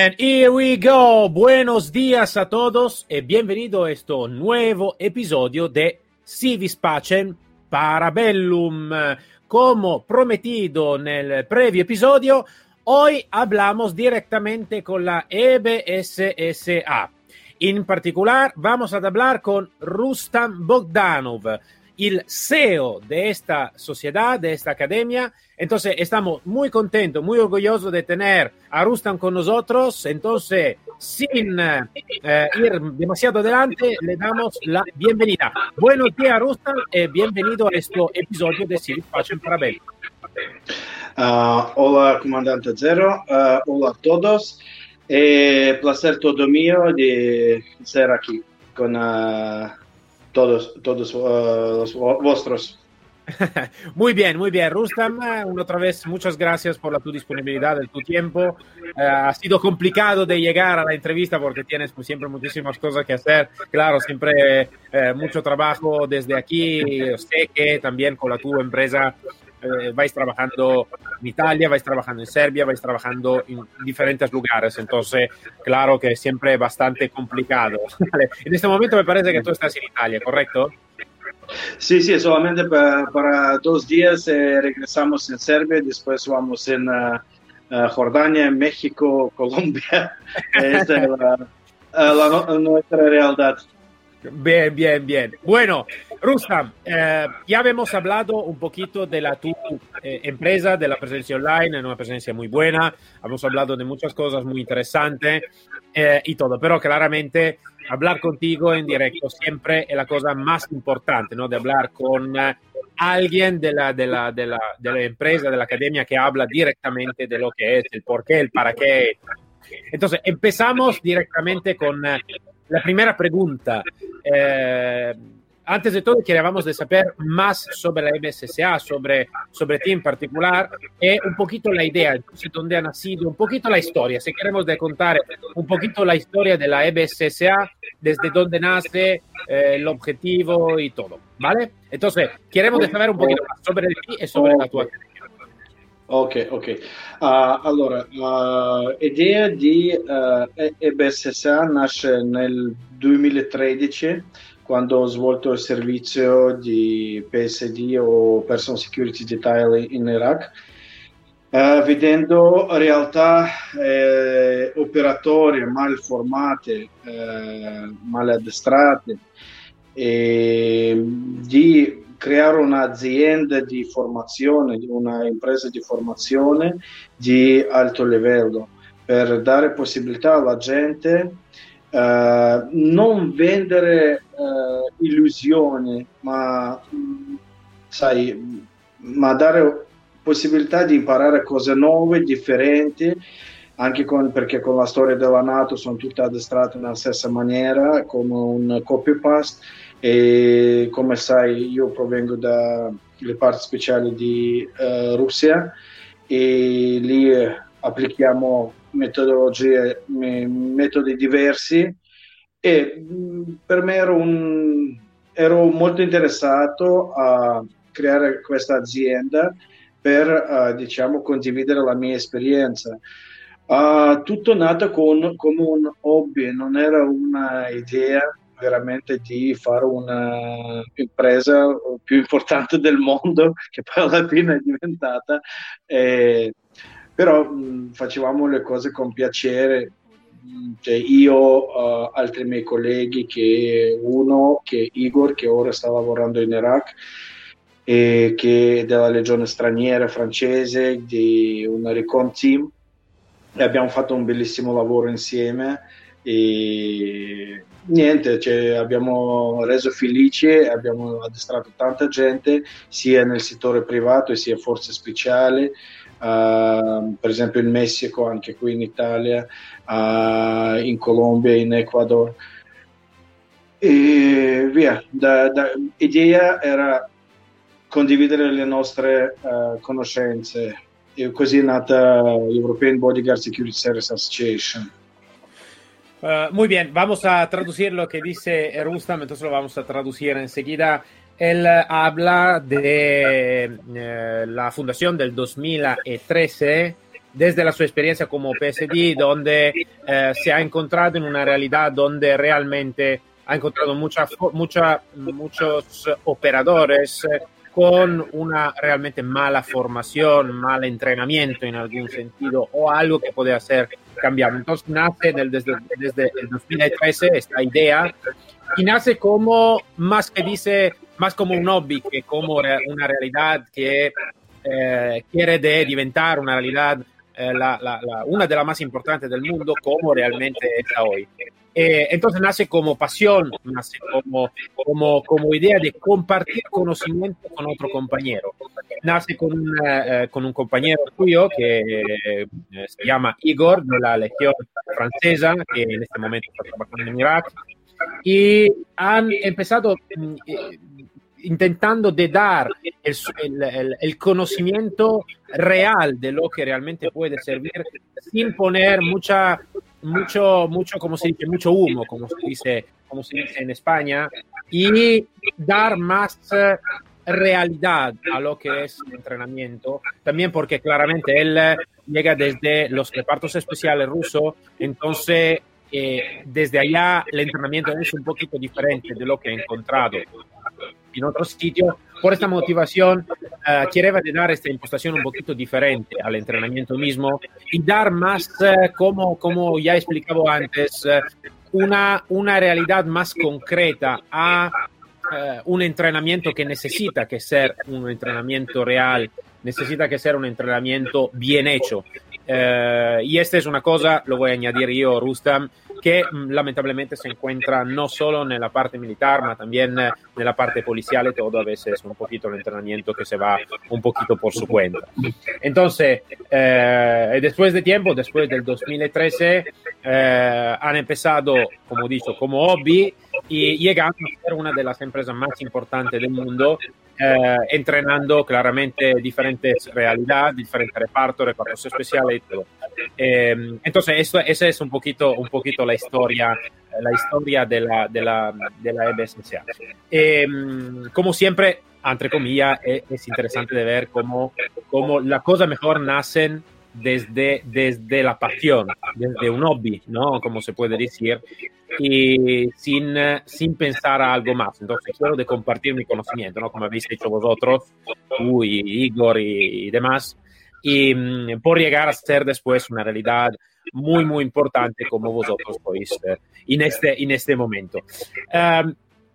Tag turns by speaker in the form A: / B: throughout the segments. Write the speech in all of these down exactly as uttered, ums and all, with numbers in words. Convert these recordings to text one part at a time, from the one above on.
A: And here we go. Buenos días a todos y bienvenido a este nuevo episodio de Si vis pacem Parabellum. Como prometido en el previo episodio, hoy hablamos directamente con la E B S S A. En particular, vamos a hablar con Rustam Bogdanov, el C E O de esta sociedad, de esta academia. Entonces, estamos muy contentos, muy orgullosos de tener a Rustam con nosotros. Entonces, sin eh, ir demasiado adelante, le damos la bienvenida. Buenos días, Rustam, y bienvenido a este episodio de Si vis pacem Parabellum.
B: Uh, hola, comandante Zero. Uh, hola a todos. Eh, placer todo mío de ser aquí con uh, todos, todos uh, los vuestros.
A: Muy bien, muy bien, Rustam. Una otra vez, muchas gracias por la tu disponibilidad, el tu tiempo. Uh, ha sido complicado de llegar a la entrevista porque tienes pues, siempre muchísimas cosas que hacer. Claro, siempre eh, mucho trabajo desde aquí. Sé que también con la tu empresa eh, vais trabajando en Italia, vais trabajando en Serbia, vais trabajando en diferentes lugares. Entonces, claro que es siempre bastante complicado. En este momento me parece que tú estás en Italia, ¿correcto?
B: Sí, sí, solamente para, para dos días eh, regresamos en Serbia, después vamos en uh, uh, Jordania, México, Colombia. Esta es la, la, la, nuestra realidad.
A: Bien, bien, bien. Bueno, Rustam, eh, ya habíamos hablado un poquito de la tu eh, empresa, de la presencia online, una presencia muy buena. Hemos hablado de muchas cosas muy interesantes eh, y todo, pero claramente hablar contigo en directo siempre es la cosa más importante, ¿no? De hablar con uh, alguien de la, de, la, de, la, de la empresa, de la academia que habla directamente de lo que es, el por qué, el para qué. Entonces, empezamos directamente con uh, la primera pregunta. Eh, antes de todo, queríamos de saber más sobre la E B S S A, sobre, sobre ti en particular, y un poquito la idea, entonces, dónde ha nacido, un poquito la historia. Si queremos de contar un poquito la historia de la E B S S A, desde dónde nace, eh, el objetivo y todo, ¿vale? Entonces, queremos de saber un poquito más sobre ti y sobre la tua academia.
B: Ok, ok. Uh, allora, l'idea uh, di uh, E B S S A nasce nel duemilatredici, quando ho svolto il servizio di P S D o Personal Security Detail in Iraq, uh, vedendo realtà eh, operatori mal formate, eh, mal addestrate, e di creare un'azienda di formazione, una impresa di formazione di alto livello per dare possibilità alla gente uh, non vendere uh, illusioni, ma sai, ma dare possibilità di imparare cose nuove, differenti, anche con, perché con la storia della NATO sono tutte addestrate nella stessa maniera, come un copy-paste. E come sai, io provengo dalle parti speciali di uh, Russia e lì eh, applichiamo metodologie, me, metodi diversi e mh, per me ero, un, ero molto interessato a creare questa azienda per uh, diciamo condividere la mia esperienza. Uh, tutto nato con, come un hobby, non era una idea veramente di fare una impresa più importante del mondo, che poi alla fine è diventata, eh, però mh, facevamo le cose con piacere, cioè, io, uh, altri miei colleghi, che uno che è Igor, che ora sta lavorando in Iraq, e che è della legione straniera francese, di una recon team, e abbiamo fatto un bellissimo lavoro insieme e niente, cioè, abbiamo reso felici, abbiamo addestrato tanta gente sia nel settore privato sia forze speciali, uh, per esempio in Messico, anche qui in Italia, uh, in Colombia, in Ecuador e via. Da, da, idea era condividere le nostre uh, conoscenze e così è nata European Bodyguard Security Service Association.
A: Uh, muy bien, vamos a traducir lo que dice Rustam, entonces lo vamos a traducir enseguida. Él habla de eh, la fundación del dos mil trece desde la sua experiencia como P S D, donde eh, se ha encontrado en una realidad donde realmente ha encontrado mucha, mucha, muchos operadores eh, con una realmente mala formación, mal entrenamiento en algún sentido o algo que puede hacer cambiar. Entonces nace del, desde, desde el dos mil trece esta idea y nace como, más que dice, más como un hobby que como una realidad que eh, quiere de diventar una realidad, eh, la, la, la, una de las más importantes del mundo, como realmente está hoy. Eh, entonces nace como pasión, nace como, como, como idea de compartir conocimiento con otro compañero. Nace con, una, eh, con un compañero tuyo que eh, se llama Igor, de la Legión Francesa, que en este momento está trabajando en Irak, y han empezado eh, intentando de dar el, el, el, el conocimiento real de lo que realmente puede servir sin poner mucha mucho mucho como se dice mucho humo como se dice como se dice en España, y dar más realidad a lo que es el entrenamiento también, porque claramente él llega desde los repartos especiales rusos, entonces eh, desde allá el entrenamiento es un poquito diferente de lo que he encontrado en otros sitios. Por esta motivación uh, quería dar esta impostación un poquito diferente al entrenamiento mismo y dar más, uh, como, como ya he explicado antes, uh, una, una realidad más concreta a uh, un entrenamiento que necesita que ser un entrenamiento real, necesita que ser un entrenamiento bien hecho. Uh, y esta es una cosa, lo voy a añadir yo, Rustam, que lamentablemente se encuentra no solo en la parte militar, ma también en la parte policial, todo a veces un poquito el entrenamiento que se va un poquito por su cuenta. Entonces, eh, después de tiempo, después del dos mil trece, eh, han empezado, como dicho, como hobby y llegando a ser una de las empresas más importantes del mundo, eh, entrenando claramente diferentes realidades, diferentes repartos, repartos especiales y todo. Eh, entonces, esto, esa es un poquito, un poquito la historia, la historia de la, de la, de la E B S S A. Eh, como siempre, entre comillas, es, es interesante de ver cómo, cómo las cosas mejor nacen desde, desde la pasión, desde un hobby, ¿no? Como se puede decir, y sin, sin pensar a algo más. Entonces, quiero de compartir mi conocimiento, ¿no? Como habéis hecho vosotros, tú y Igor y, y demás, y um, por llegar a ser después una realidad muy, muy importante como vosotros sois eh, en, este, en este momento. Um,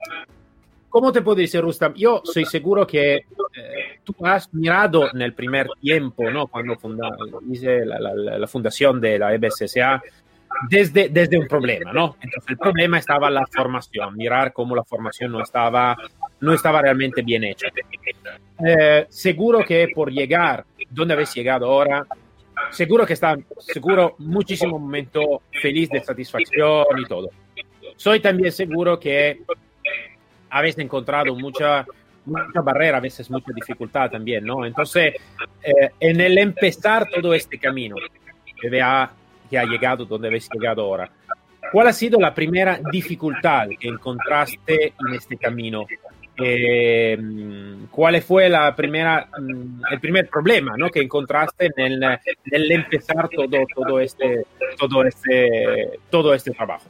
A: ¿Cómo te puedo decir, Rustam? Yo soy seguro que eh, tú has mirado en el primer tiempo, ¿no? Cuando funda, hice la, la, la fundación de la E B S S A, desde, desde un problema, ¿no? Entonces, el problema estaba la formación, mirar cómo la formación no estaba, no estaba realmente bien hecha. Eh, seguro que por llegar donde habéis llegado ahora, seguro que está, seguro muchísimo momento feliz de satisfacción y todo. Soy también seguro que habéis encontrado mucha, mucha barrera, a veces mucha dificultad también, ¿no? Entonces, eh, en el empezar todo este camino que, vea, que ha llegado donde habéis llegado ahora, ¿cuál ha sido la primera dificultad que encontraste en este camino? Eh, ¿Cuál fue la primera, el primer problema, ¿no? que encontraste en el, en el empezar todo, todo, este, todo, este, todo este trabajo?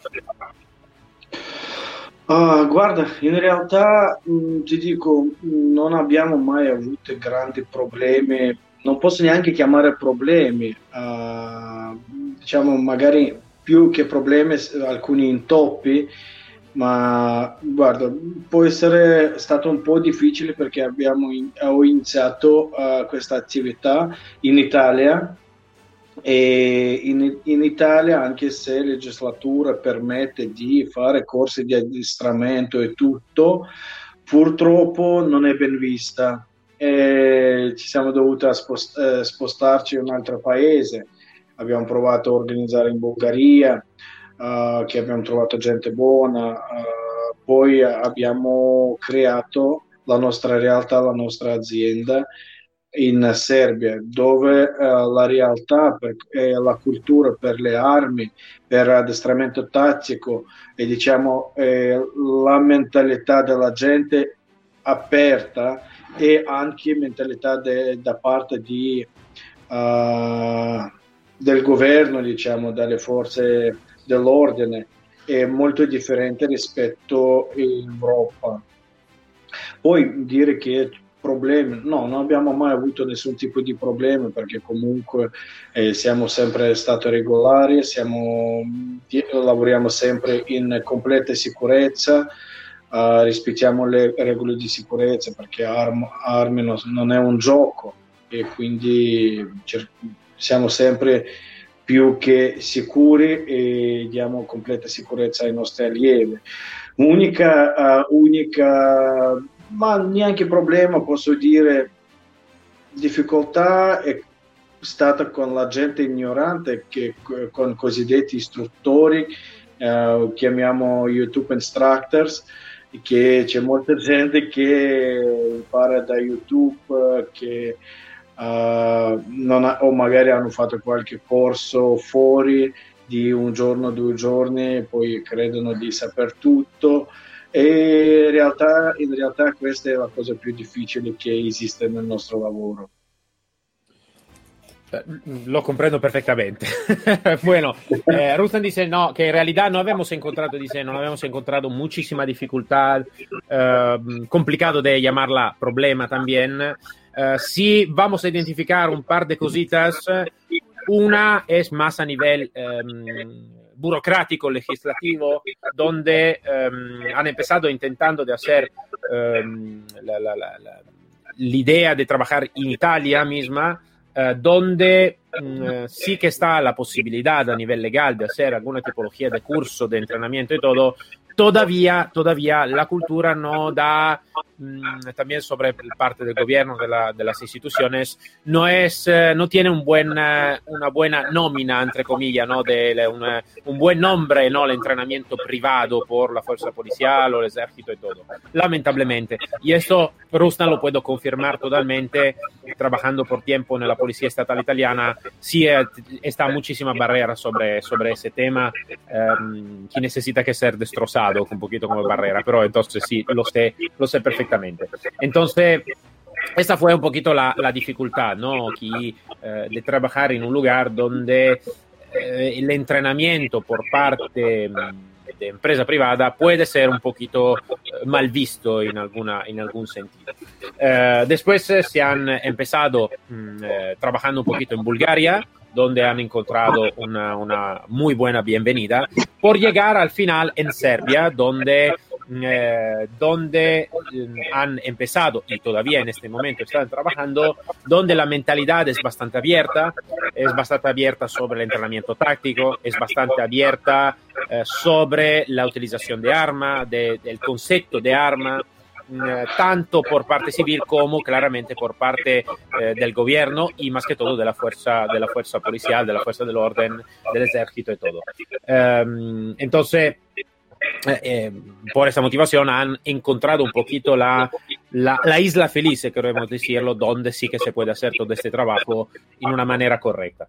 B: Uh, guarda, in realtà mh, ti dico, non abbiamo mai avuto grandi problemi, non posso neanche chiamare problemi, uh, diciamo magari più che problemi, alcuni intoppi, ma guarda, può essere stato un po' difficile perché abbiamo in, ho iniziato uh, questa attività in Italia. E in, in Italia, anche se la legislatura permette di fare corsi di addestramento e tutto, purtroppo non è ben vista e ci siamo dovuti spost- eh, spostarci in un altro paese. Abbiamo provato a organizzare in Bulgaria, uh, che abbiamo trovato gente buona, uh, poi abbiamo creato la nostra realtà, la nostra azienda in Serbia, dove eh, la realtà per, e la cultura per le armi, per addestramento tattico e diciamo eh, la mentalità della gente aperta e anche mentalità de, da parte di, uh, del governo, diciamo, dalle forze dell'ordine, è molto differente rispetto all'Europa. Poi dire che problemi, no, non abbiamo mai avuto nessun tipo di problemi, perché comunque eh, siamo sempre stati regolari, siamo, lavoriamo sempre in completa sicurezza, uh, rispettiamo le regole di sicurezza, perché arm, armi non, non è un gioco, e quindi cer- siamo sempre più che sicuri e diamo completa sicurezza ai nostri allievi. Unica, uh, unica ma neanche problema, posso dire, difficoltà è stata con la gente ignorante, che con cosiddetti istruttori, eh, chiamiamo YouTube instructors, che c'è molta gente che impara da YouTube, che uh, non ha, o magari hanno fatto qualche corso fuori di un giorno, due giorni, e poi credono di saper tutto. E in realtà, in realtà questa è la cosa più difficile che esiste nel nostro lavoro.
A: Lo comprendo perfectamente. Bueno, eh, Rustam dice no, que en realidad no habíamos encontrado, dice, no habíamos encontrado muchísima dificultad, eh, complicado de llamarla problema también. Eh, sí, vamos a identificar un par de cositas. Una es más a nivel eh, burocrático, legislativo, donde eh, han empezado intentando de hacer eh, la, la, la, la, la idea de trabajar en Italia misma, Uh, donde uh, sí que está la posibilidad a nivel legal de hacer alguna tipología de curso, de entrenamiento y todo, todavía, todavía la cultura no da, um, también sobre parte del gobierno, de, la, de las instituciones, no, es, uh, no tiene un buen, uh, una buena nómina, entre comillas, ¿no? de, de una, un buen nombre, ¿no? El entrenamiento privado por la fuerza policial o el ejército y todo, lamentablemente. Y esto Rustam lo puedo confirmar totalmente, trabajando por tiempo en la Policía Estatal Italiana. Sí eh, está muchísima barrera sobre, sobre ese tema, um, que necesita que ser destrozado un poquito como barrera, pero entonces sí, lo sé, lo sé perfectamente. Entonces, esta fue un poquito la, la dificultad, ¿no? Que, eh, de trabajar en un lugar donde eh, el entrenamiento por parte de empresa privada puede ser un poquito mal visto en, alguna, en algún sentido. Eh, después eh, se han empezado eh, trabajando un poquito en Bulgaria, donde han encontrado una, una muy buena bienvenida, por llegar al final en Serbia, donde, eh, donde eh, han empezado y todavía en este momento están trabajando, donde la mentalidad es bastante abierta, es bastante abierta sobre el entrenamiento táctico, es bastante abierta eh, sobre la utilización de arma, de, del concepto de arma, eh, tanto por parte civil como claramente por parte eh, del gobierno y más que todo de la fuerza, de la fuerza policial, de la fuerza del orden, del ejército y todo. Eh, entonces, Eh, eh, por esa motivación han encontrado un poquito la, la, la isla feliz, queremos decirlo, donde sí que se puede hacer todo este trabajo en una manera correcta.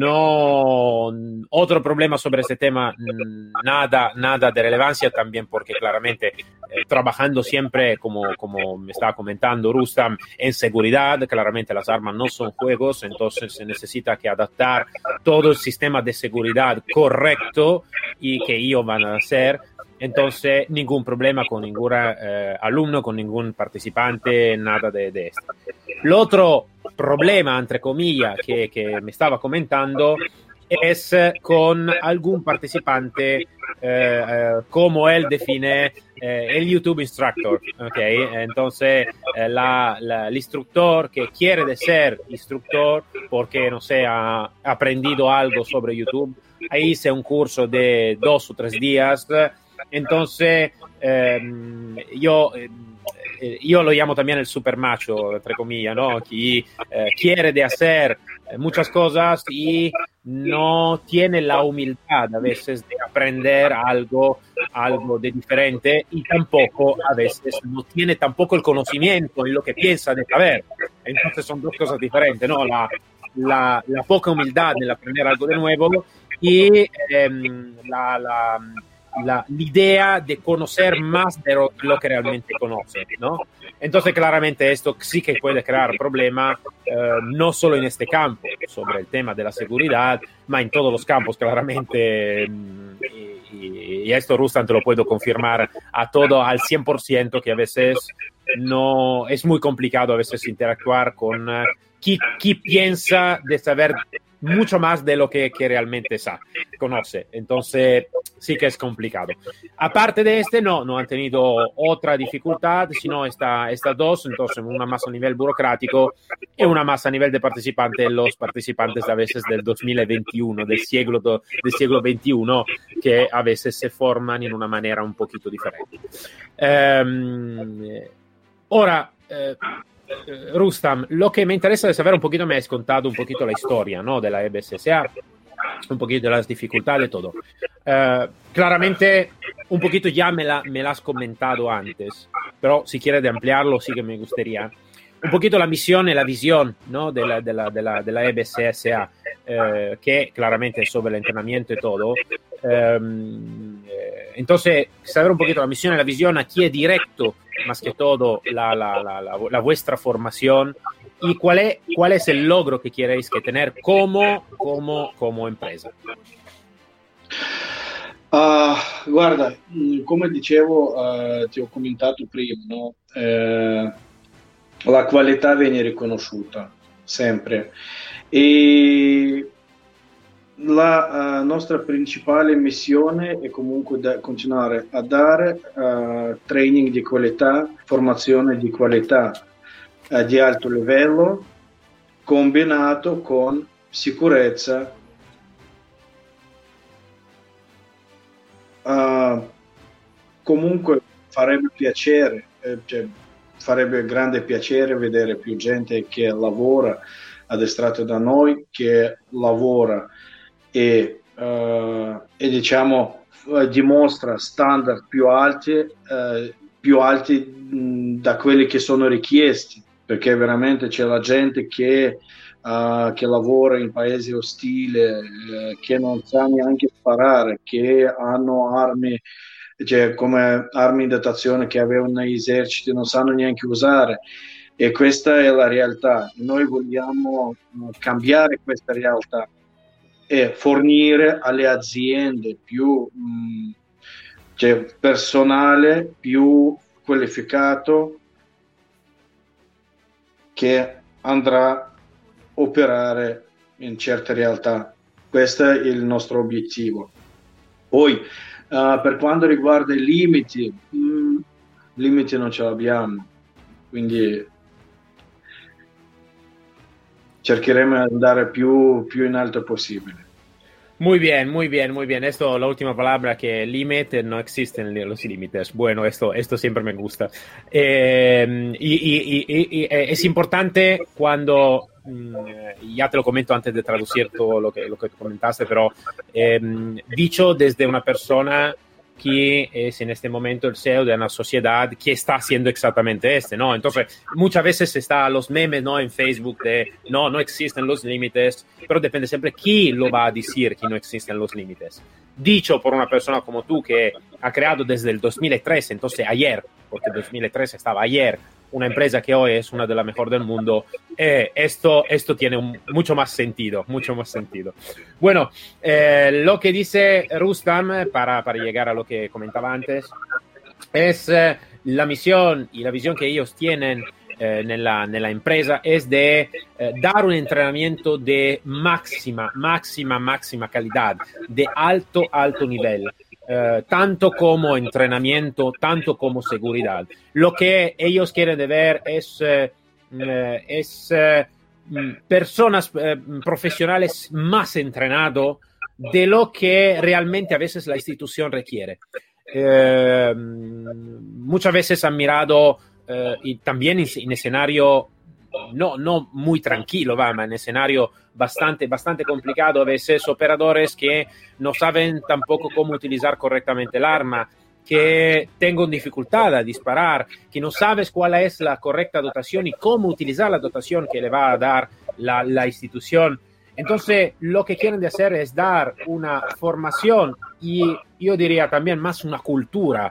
A: No, otro problema sobre este tema, nada, nada de relevancia también, porque claramente eh, trabajando siempre, como, como me estaba comentando Rustam, en seguridad, claramente las armas no son juegos, entonces se necesita que adaptar todo el sistema de seguridad correcto y que ellos van a hacer. Entonces, ningún problema con ningún eh, alumno, con ningún participante, nada de, de esto. El otro problema, entre comillas, que, que me estaba comentando es con algún participante, eh, eh, como él define eh, el YouTube instructor. ¿Okay? Entonces, eh, la, la, el instructor que quiere de ser instructor porque, no sé, ha aprendido algo sobre YouTube, ahí hice un curso de dos o tres días. Entonces, eh, yo, eh, yo lo llamo también el super macho, entre comillas, ¿no? Que eh, quiere de hacer muchas cosas y no tiene la humildad a veces de aprender algo, algo de diferente y tampoco a veces no tiene tampoco el conocimiento en lo que piensa de saber. Entonces son dos cosas diferentes, ¿no? La, la, la poca humildad en aprender algo de nuevo y eh, la... la La, la idea de conocer más de lo, lo que realmente conoce, ¿no? Entonces, claramente esto sí que puede crear problemas, eh, no solo en este campo, sobre el tema de la seguridad, ma en todos los campos, claramente. Y, y, y esto, Rustam, te lo puedo confirmar a todo, al cien por ciento, que a veces no es muy complicado a veces interactuar con uh, quien, quien piensa de saber mucho más de lo que, que realmente sa, conoce. Entonces, sí que es complicado. Aparte de este, no, no han tenido otra dificultad, sino esta, estas dos, entonces una más a nivel burocrático y una más a nivel de participantes, los participantes a veces del dos mil veintiuno, del siglo, del siglo veintiuno, que a veces se forman en una manera un poquito diferente. Um, ora, eh, Rustam, lo que me interesa de saber un poquito, me has contado un poquito la historia, ¿no?, de la E B S S A, un poquito de las dificultades, todo. Uh, claramente, un poquito ya me la, me la has comentado antes, pero si quieres de ampliarlo, sí que me gustaría. Un poquito la misión y la visión, ¿no?, de la, de la, de la, de la E B S S A, eh, que claramente es sobre el entrenamiento y todo. Um, eh, entonces, saber un poquito la misión y la visión aquí es directo, más que todo, la, la, la, la, la vuestra formación y cuál es, cuál es el logro que queréis que tener como, como, como empresa.
B: Uh, guarda, come dicevo, uh, ti ho commentato prima, no? Eh, la qualità viene riconosciuta sempre e la uh, nostra principale missione è comunque da continuare a dare uh, training di qualità, formazione di qualità uh, di alto livello combinato con sicurezza. Uh, comunque farebbe piacere, eh, cioè, farebbe grande piacere vedere più gente che lavora addestrato da noi, che lavora e, uh, e diciamo uh, dimostra standard più alti, uh, più alti mh, da quelli che sono richiesti, perché veramente c'è la gente che, uh, che lavora in paesi ostili, uh, che non sa neanche sparare, che hanno armi, cioè come armi in dotazione che avevano negli eserciti, non sanno neanche usare. E questa è la realtà. Noi vogliamo uh, cambiare questa realtà e fornire alle aziende più mh, cioè personale più qualificato che andrà a operare in certe realtà. Questo è il nostro obiettivo. Poi uh, per quanto riguarda i limiti, mh, limiti non ce l'abbiamo, quindi cercheremo di andare più, più in alto possibile.
A: Muy bien, muy bien, muy bien. Esto, la última palabra, que límite, no existen los límites. Bueno, esto, esto siempre me gusta. Eh, y, y, y, y es importante cuando, ya te lo comento antes de traducir todo lo que, lo que comentaste, pero eh, dicho desde una persona que es en este momento el C E O de una sociedad que está haciendo exactamente este, ¿no? Entonces, muchas veces está los memes, ¿no?, en Facebook de no, no existen los límites, pero depende siempre quién lo va a decir que no existen los límites. Dicho por una persona como tú que ha creado desde el dos mil trece, entonces ayer, porque dos mil trece estaba ayer, una empresa que hoy es una de las mejores del mundo, eh, esto, esto tiene un, mucho más sentido, mucho más sentido. Bueno, eh, lo que dice Rustam, para, para llegar a lo que comentaba antes, es eh, la misión y la visión que ellos tienen eh, nella, nella empresa es de eh, dar un entrenamiento de máxima, máxima, máxima calidad, de alto, alto nivel. Uh, tanto como entrenamiento, tanto como seguridad. Lo que ellos quieren de ver es, uh, uh, es uh, personas uh, profesionales más entrenados de lo que realmente a veces la institución requiere. Uh, muchas veces han mirado, uh, y también en, en escenario no, no muy tranquilo, va, ma en escenario bastante, bastante complicado, a veces operadores que no saben tampoco cómo utilizar correctamente el arma, que tengan dificultad a disparar, que no sabes cuál es la correcta dotación y cómo utilizar la dotación que le va a dar la, la institución. Entonces, lo que quieren de hacer es dar una formación y yo diría también más una cultura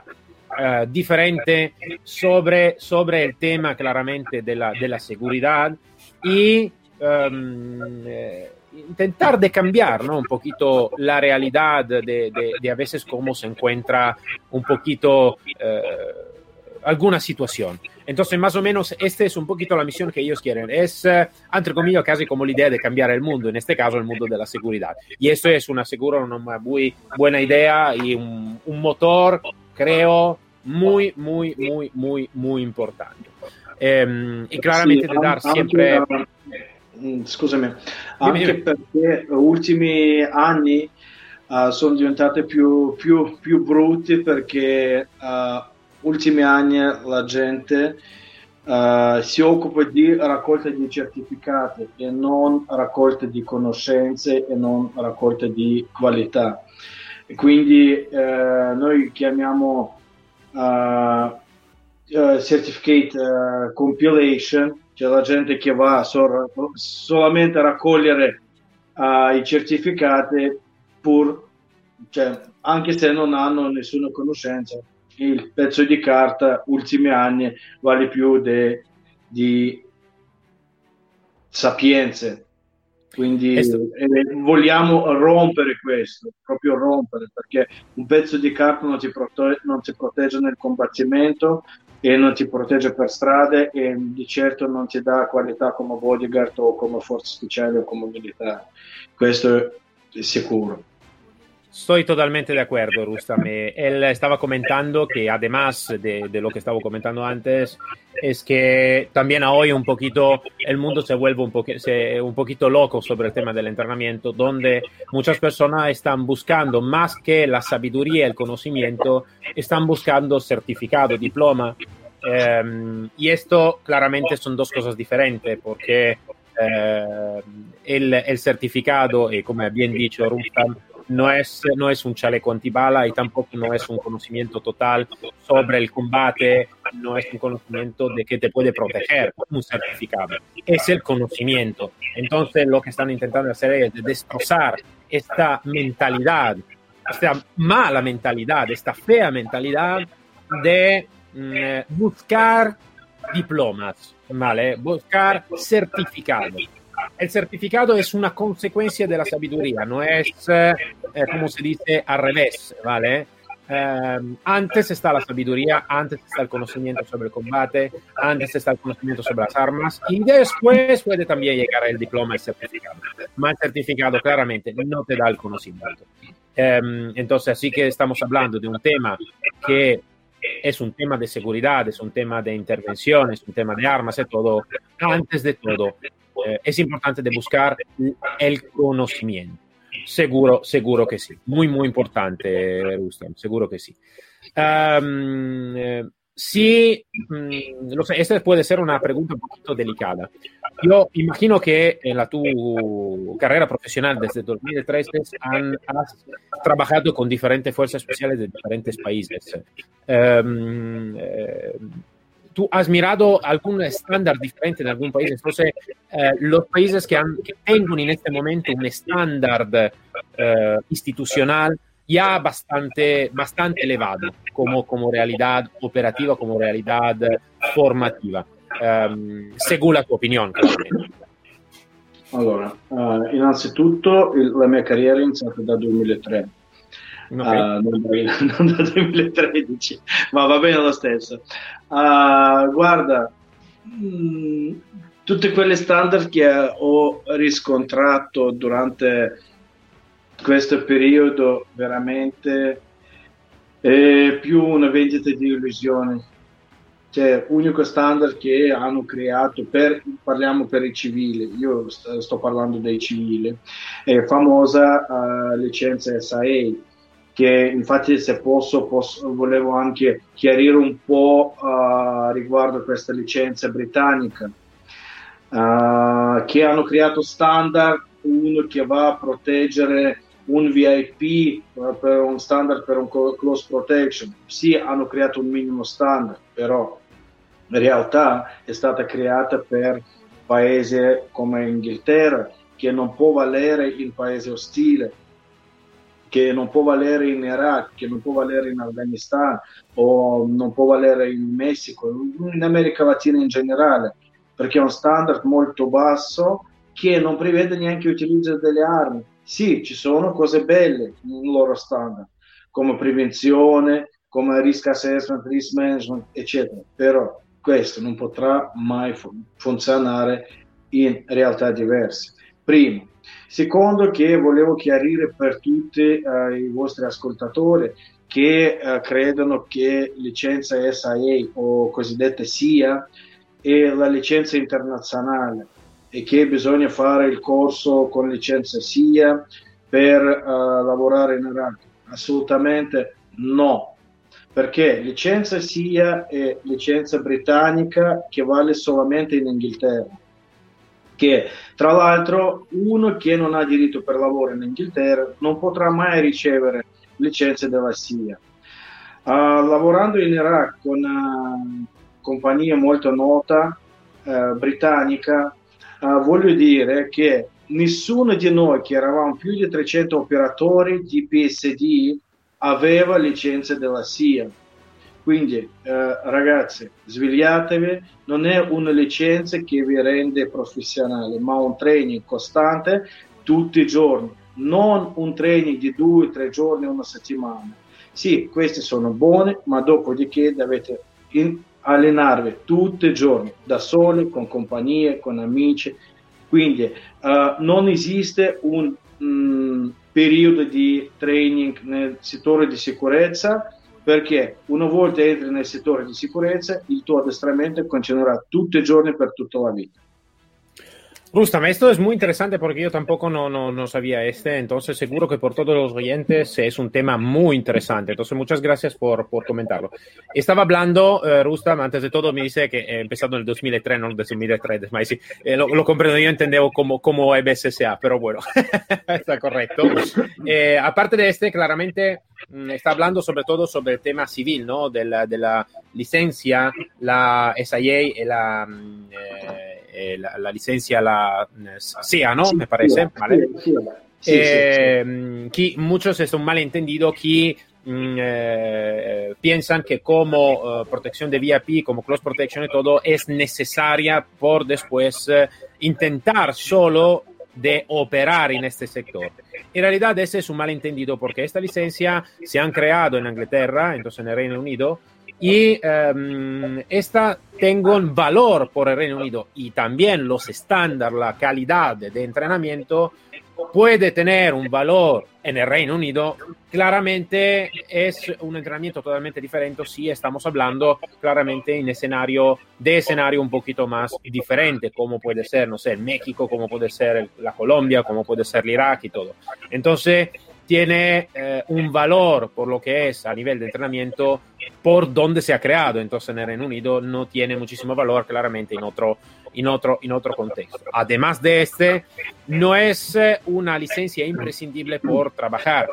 A: uh, diferente sobre, sobre el tema claramente de la, de la seguridad y um, eh, intentar de cambiar, ¿no? Un poquito la realidad de, de, de a veces cómo se encuentra un poquito eh, alguna situación. Entonces, más o menos, esta es un poquito la misión que ellos quieren. Es, eh, entre comillas, casi como la idea de cambiar el mundo, en este caso el mundo de la seguridad. Y esto es una, seguro, una muy buena idea y un, un motor, creo, muy, muy, muy, muy, muy importante. Eh, y claramente
B: sì,
A: de dar
B: anche,
A: sempre...
B: Scusami,
A: Dimmi,
B: anche
A: dimmi.
B: perché gli ultimi anni uh, sono diventate più, più, più brutti perché uh, ultimi anni la gente uh, si occupa di raccolta di certificati e non raccolta di conoscenze e non raccolta di qualità. E quindi uh, noi chiamiamo uh, uh, certificate uh, compilation, cioè la gente che va so- solamente a raccogliere uh, i certificati pur, cioè, anche se non hanno nessuna conoscenza. Il pezzo di carta ultimi anni vale più de, di sapienze, quindi
A: Esto,
B: eh, vogliamo rompere questo, proprio rompere, perché un pezzo di carta non ti, prote- non ti protegge nel combattimento e non ti protegge per strade e di certo non ti dà qualità come bodyguard o come forze speciali o come militare. Questo è sicuro.
A: Estoy totalmente de acuerdo, Rustam. Eh, Él estaba comentando que además de, de lo que estaba comentando antes, es que también a hoy un poquito el mundo se vuelve un, poqu se, un poquito loco sobre el tema del entrenamiento, donde muchas personas están buscando más que la sabiduría, el conocimiento, están buscando certificado, diploma. Eh, y esto claramente son dos cosas diferentes, porque eh, el, el certificado, y como bien dicho Rustam, no es, no es un chaleco antibala y tampoco no es un conocimiento total sobre el combate, no es un conocimiento de que te puede proteger un certificado, es el conocimiento. Entonces lo que están intentando hacer es destrozar esta mentalidad, esta mala mentalidad, esta fea mentalidad de mm, buscar diplomas, ¿vale? Buscar certificados. El certificado es una consecuencia de la sabiduría, no es, eh, como se dice, al revés, ¿vale? Eh, antes está la sabiduría, antes está el conocimiento sobre el combate, antes está el conocimiento sobre las armas y después puede también llegar el diploma, el certificado. Mas el certificado claramente no te da el conocimiento. Eh, entonces, así que estamos hablando de un tema que es un tema de seguridad, es un tema de intervención, es un tema de armas, es todo. Antes de todo, eh, es importante de buscar el conocimiento. Seguro, seguro que sí. Muy, muy importante, Rustam, seguro que sí. Um, eh, sí, mm, lo sé, esta puede ser una pregunta un poquito delicada. Yo imagino que en la tu carrera profesional desde dos mil trece han, has trabajado con diferentes fuerzas especiales de diferentes países. Um, eh, ¿Tú has mirado algún estándar diferente en algún país? Entonces, eh, los países que, han, que tengan en este momento un estándar eh, institucional ya bastante, bastante elevado como, como realidad operativa, como realidad formativa, um, según la tua opinione, claramente.
B: Allora, uh, innanzitutto il, la mia carriera è iniziata dal duemilatré.
A: Okay.
B: Uh, non, da, non dal duemilatredici, ma va bene lo stesso. Uh, guarda, mh, tutte quelle standard che ho riscontrato durante questo periodo veramente è più una vendita di illusioni. Cioè, unico standard che hanno creato per, parliamo per i civili, io sto, sto parlando dei civili, è famosa uh, licenza S A A, che infatti se posso, posso volevo anche chiarire un po' uh, riguardo a questa licenza britannica, uh, che hanno creato standard, uno che va a proteggere un V I P uh, per un standard per un close protection. Sì, hanno creato un minimo standard, però in realtà è stata creata per paesi come Inghilterra, che non può valere il paese ostile. che non può valere in Iraq, che non può valere in Afghanistan o non può valere in Messico, in America Latina in generale, perché è un standard molto basso che non prevede neanche l'utilizzo delle armi. Sì, ci sono cose belle nel loro standard, come prevenzione, come risk assessment, risk management, eccetera, però questo non potrà mai fu- funzionare in realtà diverse. Primo. Secondo, che volevo chiarire per tutti eh, i vostri ascoltatori che eh, credono che licenza S I A o cosiddetta S I A è la licenza internazionale e che bisogna fare il corso con licenza S I A per eh, lavorare in Iraq. Assolutamente no, perché licenza S I A è licenza britannica che vale solamente in Inghilterra, che tra l'altro uno che non ha diritto per lavoro in Inghilterra non potrà mai ricevere licenze della S I A. Uh, lavorando in Iraq con una compagnia molto nota uh, britannica, uh, voglio dire che nessuno di noi, che eravamo più di trecento operatori di P S D, aveva licenze della S I A. Quindi eh, ragazzi, svegliatevi, non è una licenza che vi rende professionali, ma un training costante tutti i giorni, non un training di due o tre giorni, una settimana. Sì, questi sono buoni, ma dopodiché dovete in- allenarvi tutti i giorni, da soli, con compagnie, con amici. Quindi eh, non esiste un mh, periodo di training nel settore di sicurezza, perché una volta entri nel settore di sicurezza, il tuo addestramento continuerá tutti i giorni per tutta la vida.
A: Rustam, esto es muy interesante porque yo tampoco no, no, no sabía este, entonces seguro que por todos los oyentes es un tema muy interesante, entonces muchas gracias por, por comentarlo. Estaba hablando, eh, Rustam, antes de todo me dice que he empezado en el dos mil tres, no en el dos mil tres, ma sí, eh, lo, lo comprendo, yo entendía como, como E B S S A, pero bueno, está correcto. Eh, aparte de este, claramente está hablando sobre todo sobre el tema civil, ¿no? De la, de la licencia, la S I A y la... Eh, Eh, la, la licencia, la S I A, ¿no?
B: Sí,
A: Me parece,
B: sí,
A: ¿vale?
B: sí, sí,
A: eh,
B: sí, sí.
A: Chi, muchos es un malentendido que mm, eh, piensan que como uh, protección de V I P, como close protection y todo, es necesaria por después uh, intentar solo de operar en este sector. En realidad ese es un malentendido porque esta licencia se han creado en Inglaterra, entonces en el Reino Unido, y um, esta tengo un valor por el Reino Unido y también los estándares, la calidad de entrenamiento puede tener un valor en el Reino Unido. Claramente es un entrenamiento totalmente diferente si estamos hablando claramente en escenario de escenario un poquito más diferente, como puede ser, no sé, México, como puede ser la Colombia, como puede ser el Irak y todo. Entonces tiene eh, un valor por lo que es a nivel de entrenamiento por donde se ha creado. Entonces en el Reino Unido no tiene muchísimo valor claramente en otro, en otro, en otro contexto. Además de este, no es una licencia imprescindible por trabajar.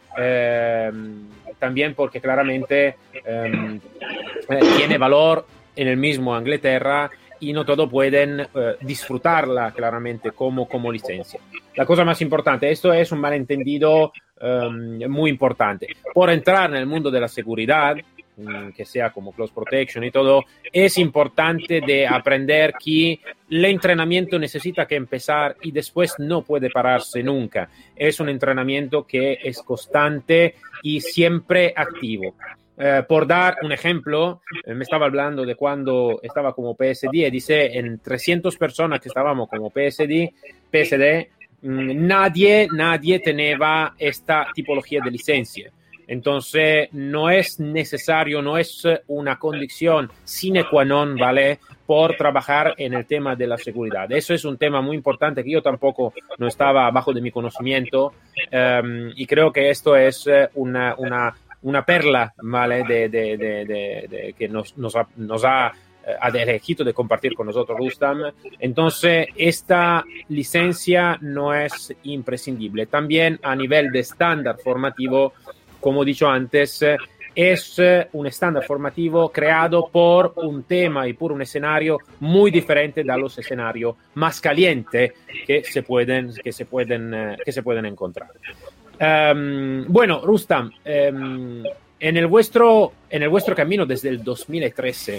A: Eh, también porque claramente eh, eh, tiene valor en el mismo Inglaterra y no todos pueden eh, disfrutarla claramente como, como licencia. La cosa más importante, esto es un malentendido um, muy importante. Por entrar en el mundo de la seguridad, um, que sea como close protection y todo, es importante de aprender que el entrenamiento necesita que empezar y después no puede pararse nunca. Es un entrenamiento que es constante y siempre activo. Eh, por dar un ejemplo, eh, me estaba hablando de cuando estaba como P S D y dice en trescientas personas que estábamos como P S D, P S D, mmm, nadie, nadie tenía esta tipología de licencia. Entonces no es necesario, no es una condición sine qua non, ¿vale?, por trabajar en el tema de la seguridad. Eso es un tema muy importante que yo tampoco no estaba bajo de mi conocimiento um, y creo que esto es una, una una perla, ¿vale?, de, de, de, de, de que nos, nos ha, nos ha, ha elegido de compartir con nosotros Rustam. Entonces, esta licencia no es imprescindible. También a nivel de estándar formativo, como he dicho antes, es un estándar formativo creado por un tema y por un escenario muy diferente de los escenarios más calientes que se pueden, que se pueden, que se pueden encontrar. Um, bueno, Rustam, um, en el vuestro, en el vuestro camino desde el dos mil trece,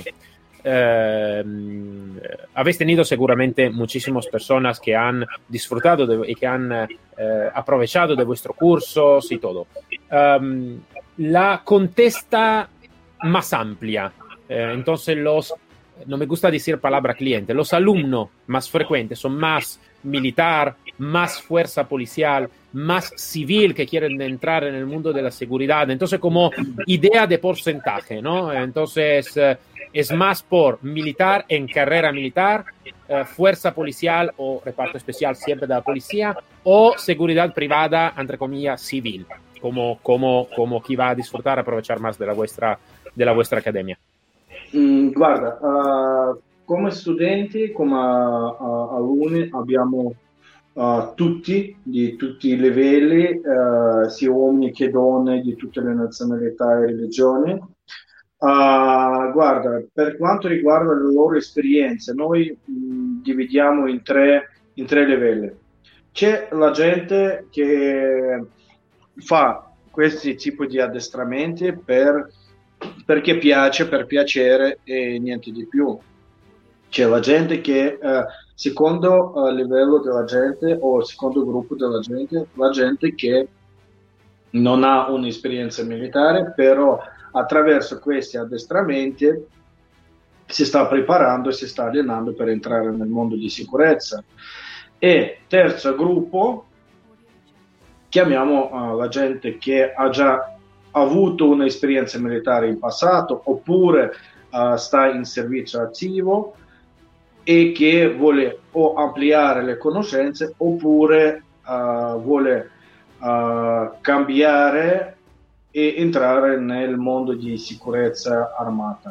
A: uh, habéis tenido seguramente muchísimas personas que han disfrutado de, y que han uh, aprovechado de vuestros cursos y todo. Um, la contesta más amplia, uh, entonces los, no me gusta decir palabra cliente, los alumnos más frecuentes son más militar, más fuerza policial, más civil que quieren entrar en el mundo de la seguridad. Entonces, como idea de porcentaje, ¿no? Entonces, eh, es más por militar en carrera militar, eh, fuerza policial o reparto especial siempre de la policía, o seguridad privada, entre comillas, civil, como, como, como chi va a disfrutar, aprovechar más de la vuestra, de la vuestra academia.
B: Mm, guarda, uh, come studenti, come uh, uh, alunni abbiamo uh, tutti, di tutti i livelli, uh, sia uomini che donne, di tutte le nazionalità e religioni. Uh, guarda, per quanto riguarda le loro esperienze, noi mh, dividiamo in tre, in tre livelli. C'è la gente che fa questi tipi di addestramenti per, perché piace, per piacere e niente di più. C'è la gente che, eh, secondo uh, livello della gente o secondo gruppo della gente, la gente che non ha un'esperienza militare, però attraverso questi addestramenti si sta preparando e si sta allenando per entrare nel mondo di sicurezza. E terzo gruppo, chiamiamo uh, la gente che ha già avuto un'esperienza militare in passato oppure uh, sta in servizio attivo e che vuole o ampliare le conoscenze oppure uh, vuole uh, cambiare e entrare nel mondo di sicurezza armata.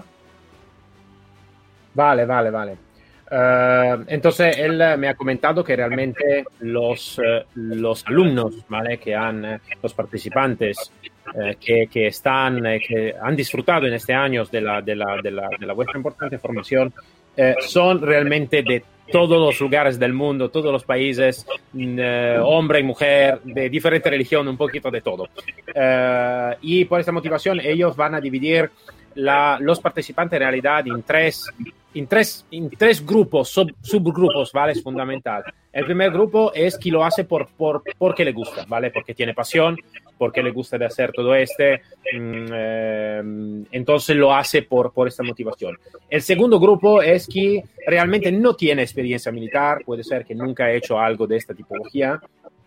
A: Vale, vale, vale. Uh, entonces él me ha comentado que realmente los, uh, los alumnos, ¿vale? Que han, los participantes uh, que, que están, uh, que han disfrutado en este año de la, de la, de la, de la vuestra importante formación, uh, son realmente de todos los lugares del mundo, todos los países, uh, hombre y mujer, de diferente religión, un poquito de todo. Uh, y por esta motivación ellos van a dividir la, los participantes en realidad en tres, en tres, en tres grupos, sub, subgrupos, ¿vale? Es fundamental. El primer grupo es quien lo hace por, por, porque le gusta, ¿vale? Porque tiene pasión, porque le gusta de hacer todo este, eh, entonces lo hace por, por esta motivación. El segundo grupo es que realmente no tiene experiencia militar, puede ser que nunca ha hecho algo de esta tipología,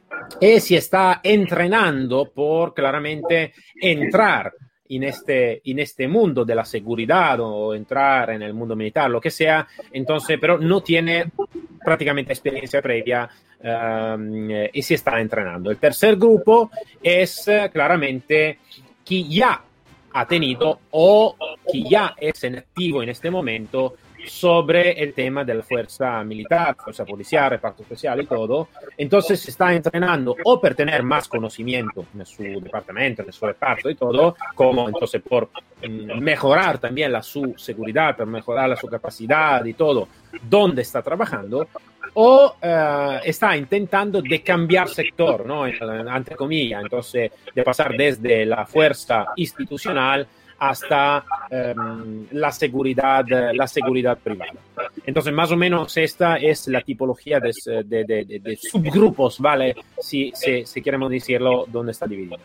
A: y si está entrenando por claramente entrar en este, en este mundo de la seguridad o entrar en el mundo militar, lo que sea, entonces, pero no tiene prácticamente experiencia previa um, y se está entrenando. El tercer grupo es uh, claramente quien ya ha tenido o quien ya es en activo en este momento sobre el tema de la fuerza militar, fuerza policial, reparto especial y todo. Entonces se está entrenando o por tener más conocimiento en su departamento, en su reparto y todo, como entonces por mm, mejorar también la su seguridad, por mejorar la su capacidad y todo, donde está trabajando, o uh, está intentando de cambiar sector, ¿no? Entre comillas, entonces de pasar desde la fuerza institucional hasta um, la seguridad la seguridad privada. Entonces, más o menos esta es la tipología de, de, de, de, de subgrupos, ¿vale? Si, si, si queremos decirlo, donde está dividido.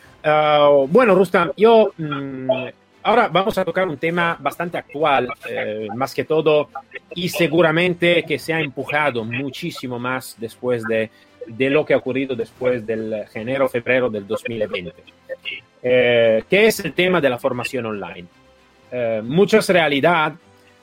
A: Uh, bueno, Rustam, yo um, ahora vamos a tocar un tema bastante actual, eh, más que todo, y seguramente que se ha empujado muchísimo más después de, de lo que ha ocurrido después del enero-febrero del dos mil veinte. Eh, que es el tema de la formación online. Eh, muchas realidades,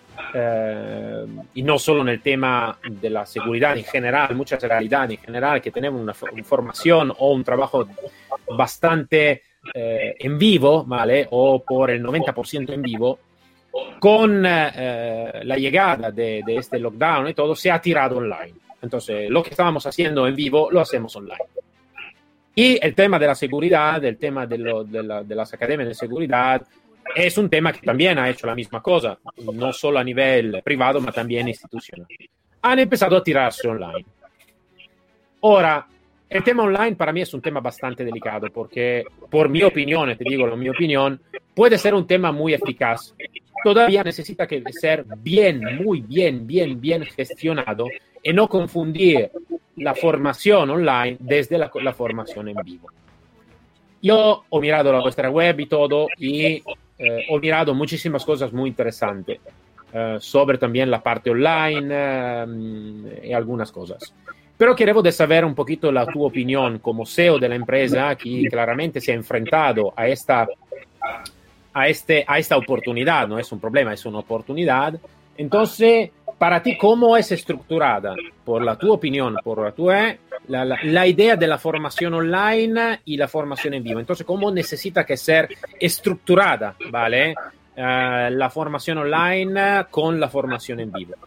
A: eh, y no solo en el tema de la seguridad en general, muchas realidades en general que tenemos una, una formación o un trabajo bastante eh, en vivo, ¿vale? O por el noventa por ciento en vivo, con eh, la llegada de, de este lockdown y todo, se ha tirado online. Entonces, lo que estábamos haciendo en vivo, lo hacemos online. Y el tema de la seguridad, el tema de, lo, de, la, de las academias de seguridad, es un tema que también ha hecho la misma cosa, no solo a nivel privado, pero también institucional. Han empezado a tirarse online. Ahora, el tema online para mí es un tema bastante delicado porque, por mi opinión, te digo la mi opinión, puede ser un tema muy eficaz. Todavía necesita que ser bien, muy bien, bien, bien gestionado y no confundir la formación online desde la, la formación en vivo. Yo he mirado la vuestra web y todo y eh, he mirado muchísimas cosas muy interesantes eh, sobre también la parte online eh, y algunas cosas. Pero quiero de saber un poquito la tu opinión como C E O de la empresa que claramente se ha enfrentado a esta, a, este, a esta oportunidad, no es un problema, es una oportunidad. Entonces, para ti, ¿cómo es estructurada, por la tu opinión, por la tu la, la, la idea de la formación online y la formación en vivo? Entonces, ¿cómo necesita que ser estructurada, ¿vale? Uh, la formación online con la formación in vivo?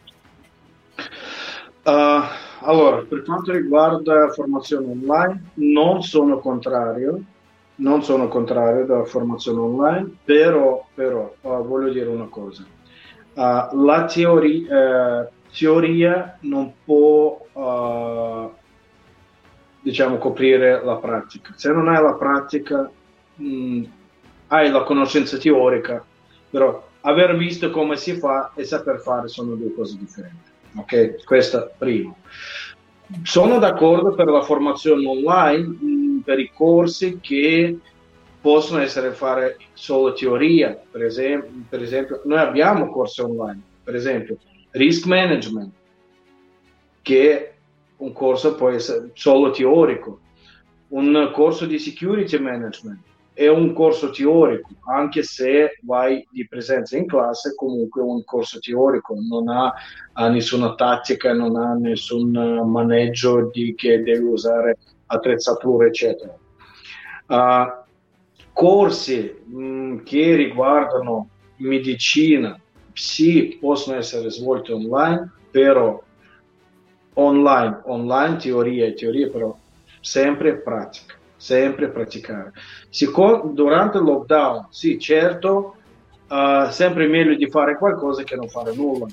B: Uh, allora, per quanto riguarda formazione online, non sono contrario, non sono contrario della formazione online, però, però uh, voglio dire una cosa. Uh, la teoria, uh, teoria non può, uh, diciamo, coprire la pratica. Se non hai la pratica, mh, hai la conoscenza teorica, però aver visto come si fa e saper fare sono due cose differenti. Ok, questa primo. Sono d'accordo per la formazione online, mh, per i corsi che possono essere fare solo teoria. Per esempio, per esempio, noi abbiamo corsi online, per esempio Risk Management, che un corso può essere solo teorico, un corso di Security Management è un corso teorico, anche se vai di presenza in classe, comunque un corso teorico, non ha, ha nessuna tattica, non ha nessun maneggio di che devi usare attrezzature, eccetera. Uh, corsi mh, che riguardano medicina, sì, possono essere svolti online, però online, online teoria e teoria, però sempre pratica. Sempre praticare. Siccome, durante il lockdown, sì, certo, uh, sempre meglio di fare qualcosa che non fare nulla.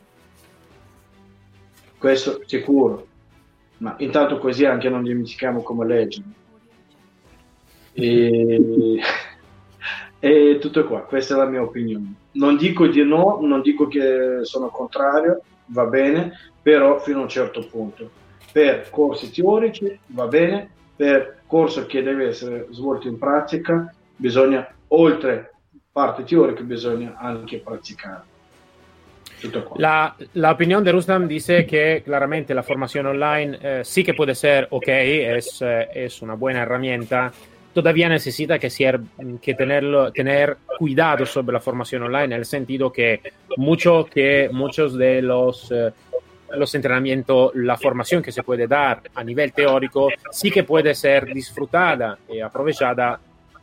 B: Questo sicuro. Ma intanto così anche non dimentichiamo come leggere. E, e tutto qua, questa è la mia opinione. Non dico di no, non dico che sono contrario, va bene, però fino a un certo punto. Per corsi teorici va bene, per corso che deve essere svolto in pratica bisogna, oltre parte teorica, bisogna anche praticare. Tutto qua.
A: La, la opinión de Rustam dice que claramente la formación online eh, sí que puede ser ok, es, eh, es una buena herramienta. Todavía necesita que, ser, que tenerlo, tener cuidado sobre la formación online, en el sentido que, mucho, que muchos de los... Eh, los entrenamientos, la formación que se puede dar a nivel teórico sí que puede ser disfrutada y aprovechada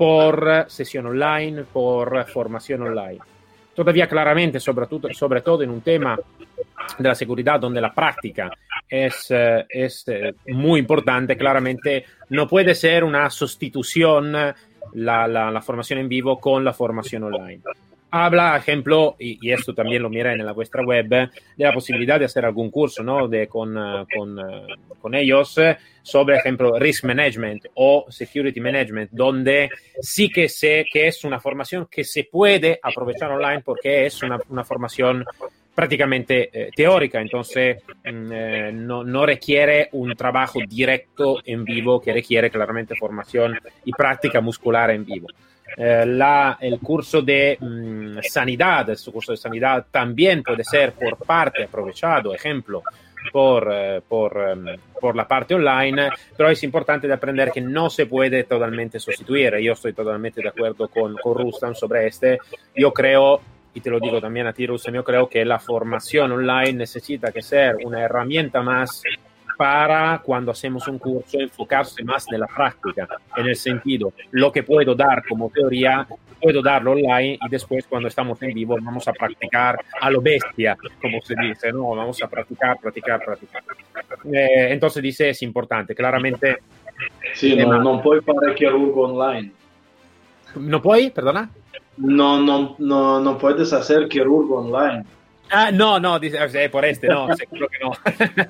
A: por sesión online, por formación online. Todavía claramente, sobre todo, sobre todo en un tema de la seguridad donde la práctica es, es muy importante, claramente no puede ser una sustitución la, la, la formación en vivo con la formación online. Habla, ejemplo, y, y esto también lo mira en la vuestra web, de la posibilidad de hacer algún curso, ¿no? de, con, con, con ellos sobre, ejemplo, Risk Management o Security Management, donde sí que sé que es una formación que se puede aprovechar online porque es una, una formación prácticamente eh, teórica, entonces eh, no, no requiere un trabajo directo en vivo que requiere claramente formación y práctica muscular en vivo. Eh, la, el curso de mmm, sanidad, el curso de sanidad también puede ser por parte aprovechado, ejemplo, por, eh, por, um, por la parte online, pero es importante de aprender que no se puede totalmente sustituir. Yo estoy totalmente de acuerdo con, con Rustam sobre este. Yo creo, y te lo digo también a ti, Rustam, yo creo que la formación online necesita que ser una herramienta más para cuando hacemos un curso enfocarse más en la práctica, en el sentido, lo que puedo dar como teoría, puedo darlo online y después cuando estamos en vivo vamos a practicar a lo bestia, como se dice, ¿no? Vamos a practicar, practicar, practicar. Eh, entonces dice, es importante, claramente.
B: Sì, no, non puoi fare chirurgo online.
A: ¿No puoi? Perdona.
B: No, no, no, no puedes hacer chirurgo online.
A: Ah, no, no, dice, eh, por este no, seguro que no.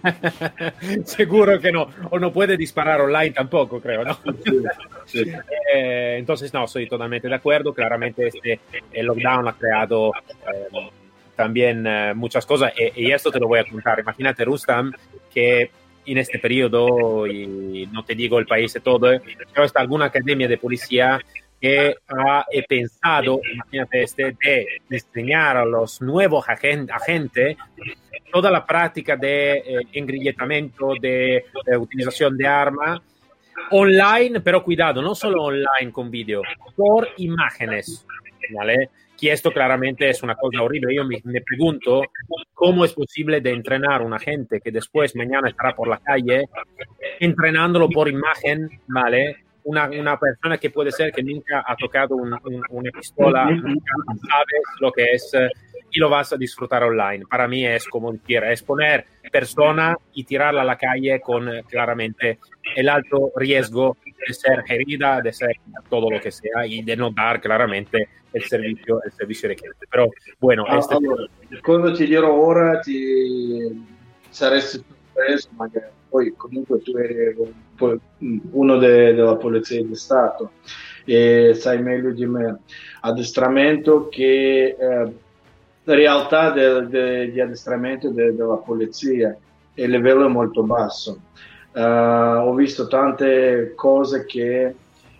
A: Seguro que no. O no puede disparar online tampoco, creo, ¿no?
B: Sí, sí.
A: Eh, entonces, no, estoy totalmente de acuerdo. Claramente este el lockdown ha creado eh, también eh, muchas cosas y, y esto te lo voy a contar. Imagínate, Rustam, que en este periodo, y no te digo el país y todo, eh, pero está alguna academia de policía que ha eh, pensado, imagínate este, de enseñar a los nuevos agen- agentes toda la práctica de eh, engrillamiento, de, de utilización de armas online, pero cuidado, no solo online con vídeo, por imágenes, ¿vale? Que esto claramente es una cosa horrible. Yo me, me pregunto cómo es posible de entrenar a una gente que después mañana estará por la calle entrenándolo por imagen, ¿vale? Una, una persona que puede ser que nunca ha tocado un, un, una pistola, nunca sabes lo que es eh, y lo vas a disfrutar online. Para mí es como decir, es poner persona y tirarla a la calle con eh, claramente el alto riesgo de ser herida, de ser todo lo que sea y de no dar claramente il servizio, il servizio richieste. Però, bueno,
B: Ah,
A: este...
B: allora, quando ti dirò ora ti saresti sorpreso, magari poi comunque tu eri uno de- della Polizia di Stato e sai meglio di me. Addestramento che eh, realtà de- de- di addestramento de- della polizia, il livello è molto basso. Eh, ho visto tante cose che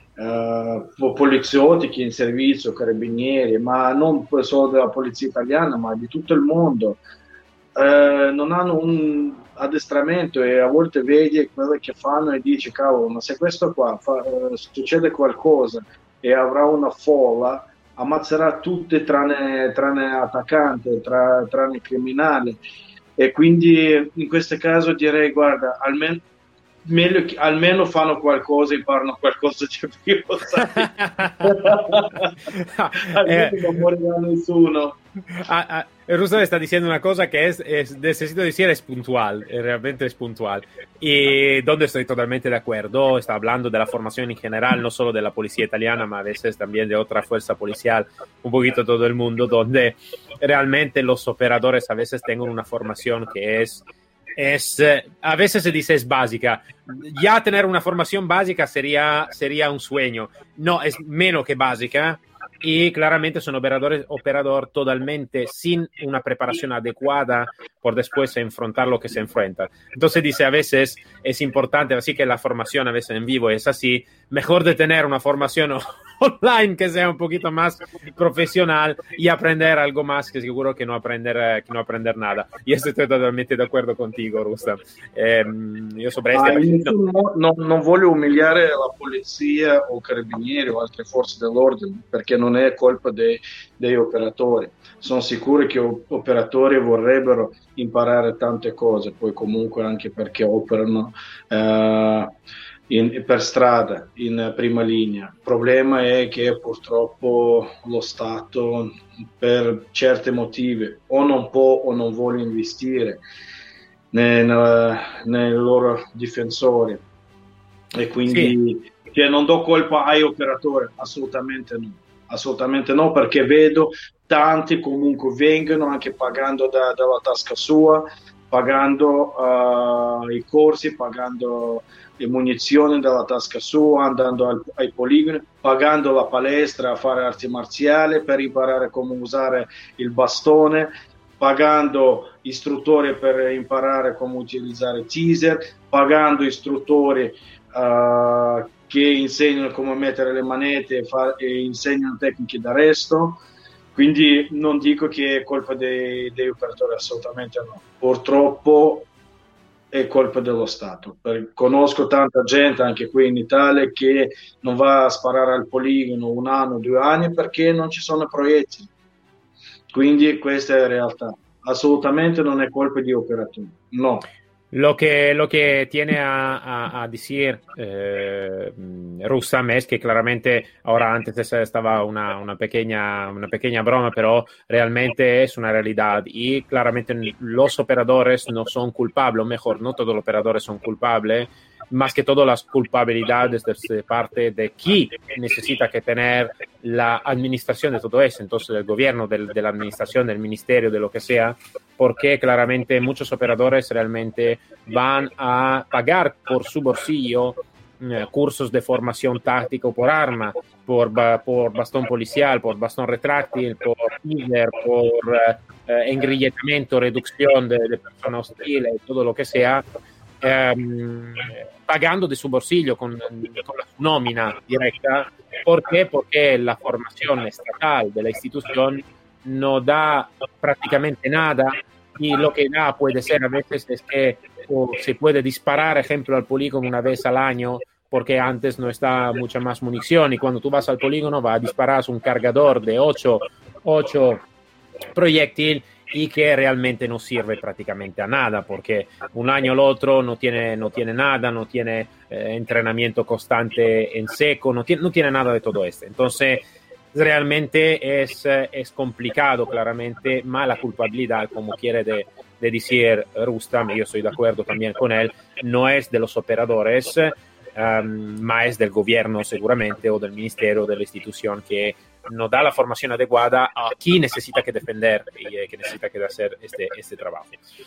B: uh, poliziotti che in servizio, carabinieri, ma non solo della polizia italiana, ma di tutto il mondo, uh, non hanno un addestramento e a volte vedi quello che fanno e dici, cavolo, ma se questo qua fa, uh, succede qualcosa e avrà una folla, ammazzerà tutti tranne, tranne attaccante, tra, tranne criminale. E quindi in questo caso direi, guarda, almeno meglio che almeno fanno qualcosa, imparano qualcosa di più, sai? Almeno
A: eh,
B: non morirà nessuno.
A: ah, ah, Russo está diciendo una cosa que es, es, necesito decir, es puntual, realmente es puntual. Y donde estoy totalmente de acuerdo, está hablando de la formación en general, no solo de la policía italiana, ma a veces también de otra fuerza policial, un poquito todo el mundo, donde realmente los operadores a veces tengan una formación que es es, a veces se dice es básica. Ya tener una formación básica sería, sería un sueño. No, es menos que básica y claramente son operadores operador totalmente sin una preparación adecuada por después enfrentar lo que se enfrenta. Entonces dice, a veces es importante, así que la formación a veces en vivo es así, mejor de tener una formación online que sea un poquito más profesional y aprender algo más que seguro que no aprender, que no aprender nada. Y estoy totalmente de acuerdo contigo, Rustam. Eh, io sobre
B: Ah,
A: este...
B: no, no, non voglio umiliare la polizia o carabinieri o altre forze dell'ordine perché non è colpa dei, degli operatori. Sono sicuro che operatori vorrebbero imparare tante cose, poi comunque anche perché operano eh, in, per strada in prima linea. Il problema è che purtroppo lo Stato per certi motivi o non può o non vuole investire nei, nei loro difensori e quindi sì. Cioè, non do colpa ai operatori, assolutamente no. Assolutamente no, perché vedo tanti comunque vengono anche pagando da, dalla tasca sua, pagando uh, i corsi, pagando le munizioni dalla tasca sua, andando al, ai poligoni, pagando la palestra a fare arti marziali per imparare come usare il bastone, pagando istruttori per imparare come utilizzare teaser, pagando istruttori uh, che insegnano come mettere le manette e, fa- e insegnano tecniche d'arresto. Quindi non dico che è colpa dei, degli operatori, assolutamente no. Purtroppo è colpa dello Stato. Per, conosco tanta gente anche qui in Italia che non va a sparare al poligono un anno, due anni perché non ci sono proiettili. Quindi questa è la realtà. Assolutamente non è colpa di operatori, no.
A: Lo que, lo que tiene a, a, a decir eh, Rustam es que claramente, ahora antes estaba una, una, pequeña, una pequeña broma, pero realmente es una realidad y claramente los operadores no son culpables, o mejor, no todos los operadores son culpables más que todo las culpabilidades de parte de quién necesita que tener la administración de todo eso, entonces del gobierno, del, de la administración, del ministerio, de lo que sea, porque claramente muchos operadores realmente van a pagar por su bolsillo eh, cursos de formación táctica por arma, por, por bastón policial, por bastón retráctil, por teaser, por eh, engrillamiento, reducción de, de personas hostiles, todo lo que sea, eh, pagando de su bolsillo con, con la nómina directa. ¿Por qué? Porque la formación estatal de la institución no da prácticamente nada, y lo que da puede ser a veces es que o se puede disparar, ejemplo, al polígono una vez al año, porque antes no está mucha más munición, y cuando tú vas al polígono va a disparar un cargador de ocho proyectiles y que realmente no sirve prácticamente a nada, porque un año al otro no tiene, no tiene nada, no tiene eh, entrenamiento constante en seco, no tiene, no tiene nada de todo esto. Entonces, realmente es, es complicado, claramente, más la culpabilidad, como quiere de, de decir Rustam, y yo estoy de acuerdo también con él, no es de los operadores, um, más es del gobierno seguramente, o del ministerio, de la institución, que no da la formación adecuada a quien necesita que defender y eh, que necesita que hacer este, este trabajo.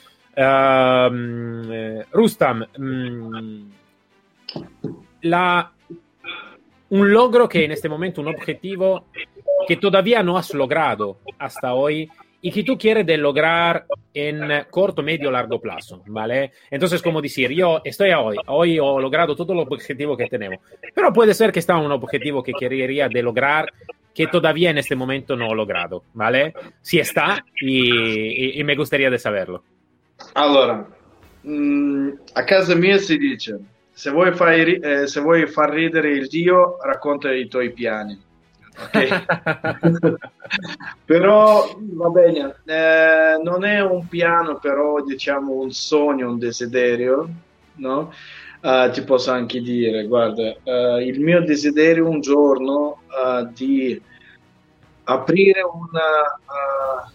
A: Um, eh, Rustam, um, la... un logro que en este momento, un objetivo que todavía no has logrado hasta hoy y que tú quieres de lograr en corto, medio, largo plazo, ¿vale? Entonces, como decir, yo estoy a hoy, hoy he logrado todo los objetivos que tenemos, pero puede ser que está un objetivo que quería de lograr que todavía en este momento no he logrado, ¿vale? Si está, y, y, y me gustaría de saberlo.
B: Allora, mh, a casa mia si dice: se vuoi, fai, eh, se vuoi far ridere il Dio, racconta i tuoi piani. Okay? Però va bene, eh, non è un piano, però diciamo un sogno, un desiderio, no? Uh, ti posso anche dire, guarda, uh, il mio desiderio un giorno uh, di aprire una,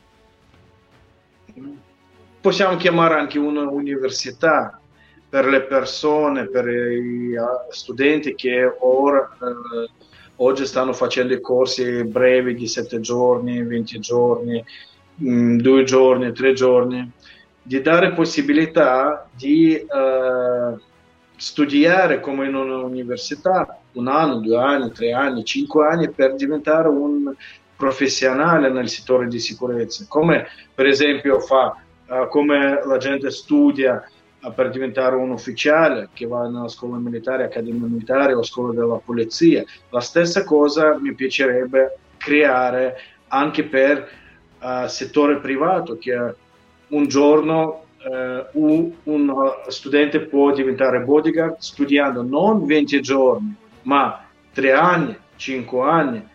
B: uh, possiamo chiamare anche un'università per le persone, per i studenti che ora, eh, oggi stanno facendo i corsi brevi di sette giorni, venti giorni, mh, due giorni, tre giorni, di dare possibilità di eh, studiare come in un'università un anno, due anni, tre anni, cinque anni per diventare un professionale nel settore di sicurezza, come per esempio fa, uh, come la gente studia per diventare un ufficiale che va nella scuola militare, accademia militare o scuola della polizia. La stessa cosa mi piacerebbe creare anche per il uh, settore privato, che un giorno uh, un, un studente può diventare bodyguard studiando non venti giorni, ma tre anni, cinque anni,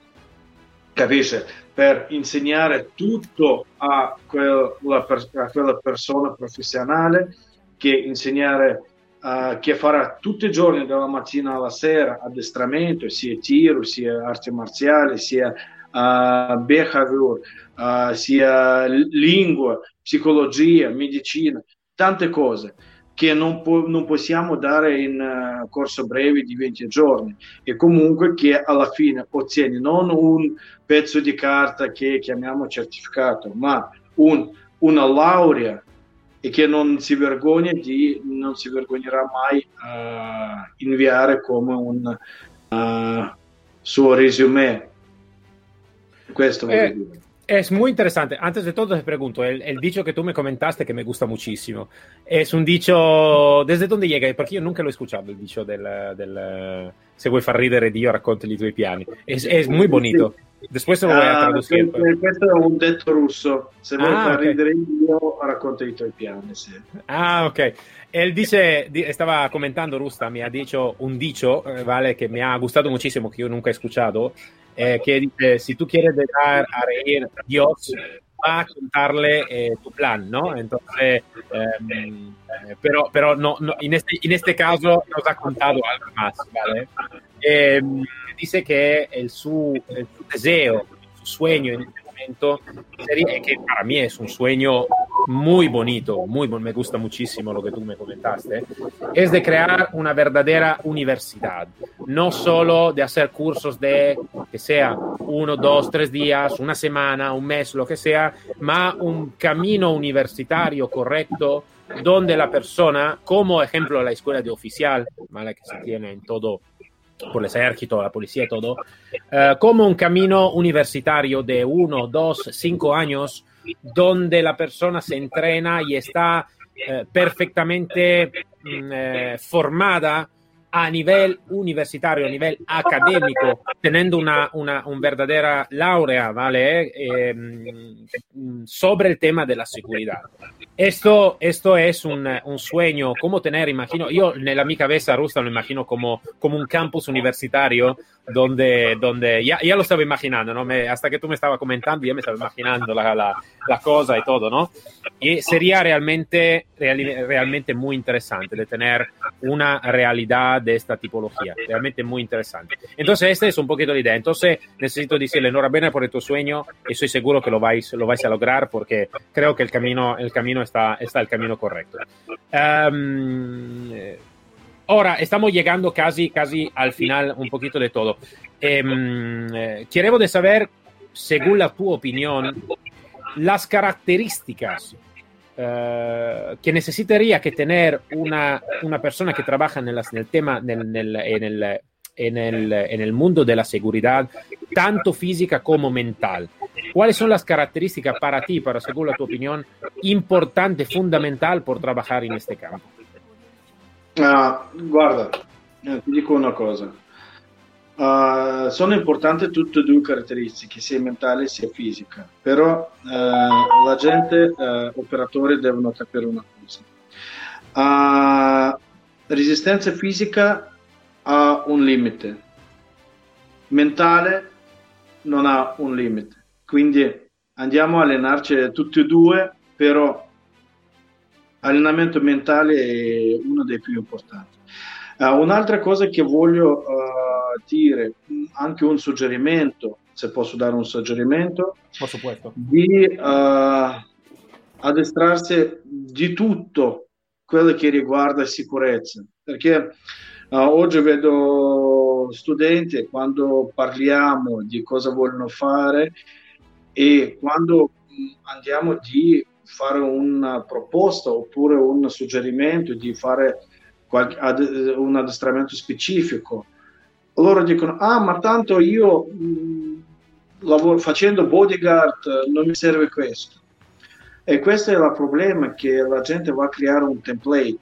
B: capisci? Per insegnare tutto a quella, a quella persona professionale, che insegnare uh, che farà tutti i giorni dalla mattina alla sera addestramento, sia tiro, sia arti marziali, sia uh, behavior, uh, sia lingua, psicologia, medicina, tante cose che non, po- non possiamo dare in uh, corso breve di venti giorni, e comunque che alla fine ottieni non un pezzo di carta che chiamiamo certificato, ma un, una laurea, e che non si vergogna di, non si vergognerà mai a uh, inviare come un uh, suo resume. Questo voglio
A: eh,
B: dire.
A: Es muy interesante. Antes de todo te pregunto, el, el dicho que tú me comentaste que me gusta muchísimo, es un dicho, ¿desde dónde llega? Porque yo nunca lo he escuchado, el dicho del, del se vuoi far ridere Dio, raccontali i tuoi piani. Es, es muy bonito. Después te lo voy a traducir.
B: Uh, questo, questo è un detto russo. Se vuoi
A: ah,
B: far
A: okay.
B: ridere Dio, racconta i tuoi piani. Sì.
A: Ah, ok. Él dice, estaba comentando Rustam, me ha dicho un dicho, ¿vale? Que me ha gustado muchísimo, que yo nunca he escuchado, eh, que dice: si tú quieres dar a reír a Dios, va a contarle eh, tu plan, ¿no? Entonces, eh, pero, pero no, no, en, este, en este caso nos ha contado algo más, ¿vale? Eh, dice que el su, el su deseo, su sueño en este momento, sería, que para mí es un sueño muy bonito, muy me gusta muchísimo lo que tú me comentaste, es de crear una verdadera universidad, no solo de hacer cursos de que sea uno, dos, tres días, una semana, un mes, lo que sea, ma un camino universitario correcto donde la persona, como ejemplo la escuela de oficial, ¿vale? Que se tiene en todo, por el ejército, la policía y todo, uh, como un camino universitario de uno, dos, cinco años, donde la persona se entrena y está eh, perfectamente eh, formada a nivel universitario, a nivel académico, teniendo una, una, una verdadera laurea, ¿vale? Eh, sobre el tema de la seguridad. Esto, esto es un, un sueño, como tener, imagino, yo en mi cabeza, Rustam, lo imagino como, como un campus universitario donde, donde ya, ya lo estaba imaginando, ¿no? Me, hasta que tú me estabas comentando, ya me estaba imaginando la, la, la cosa y todo, ¿no? Y sería realmente, real, realmente muy interesante de tener una realidad de esta tipología, realmente muy interesante. Entonces, esta es un poquito la idea. Entonces, necesito decirle enhorabuena por tu sueño y estoy seguro que lo vais, lo vais a lograr porque creo que el camino, el camino está, está el camino correcto. Um, ahora, estamos llegando casi, casi al final un poquito de todo. Um, eh, quiero de saber, según la tu opinión, las características Uh, que necesitaría que tener una, una persona que trabaja en el, en el tema, en el, en, el, en, el, en el mundo de la seguridad, tanto física como mental. ¿Cuáles son las características para ti, para según la tu opinión, importante, fundamental por trabajar en este campo?
B: Uh, guarda, ti dico una cosa. Uh, sono importanti tutte e due caratteristiche, sia mentale sia fisica, però uh, la gente, uh, operatori, devono capire una cosa. Uh, resistenza fisica ha un limite, mentale non ha un limite, quindi andiamo a allenarci tutti e due, però allenamento mentale è uno dei più importanti. Uh, un'altra cosa che voglio uh, dire, anche un suggerimento, se posso dare un suggerimento,
A: por supuesto,
B: di uh, addestrarsi di tutto quello che riguarda sicurezza, perché uh, oggi vedo studenti, quando parliamo di cosa vogliono fare e quando andiamo di fare una proposta oppure un suggerimento di fare un addestramento specifico, loro dicono: ah, ma tanto io mh, lavoro, facendo bodyguard non mi serve questo. E questo è il problema, che la gente va a creare un template,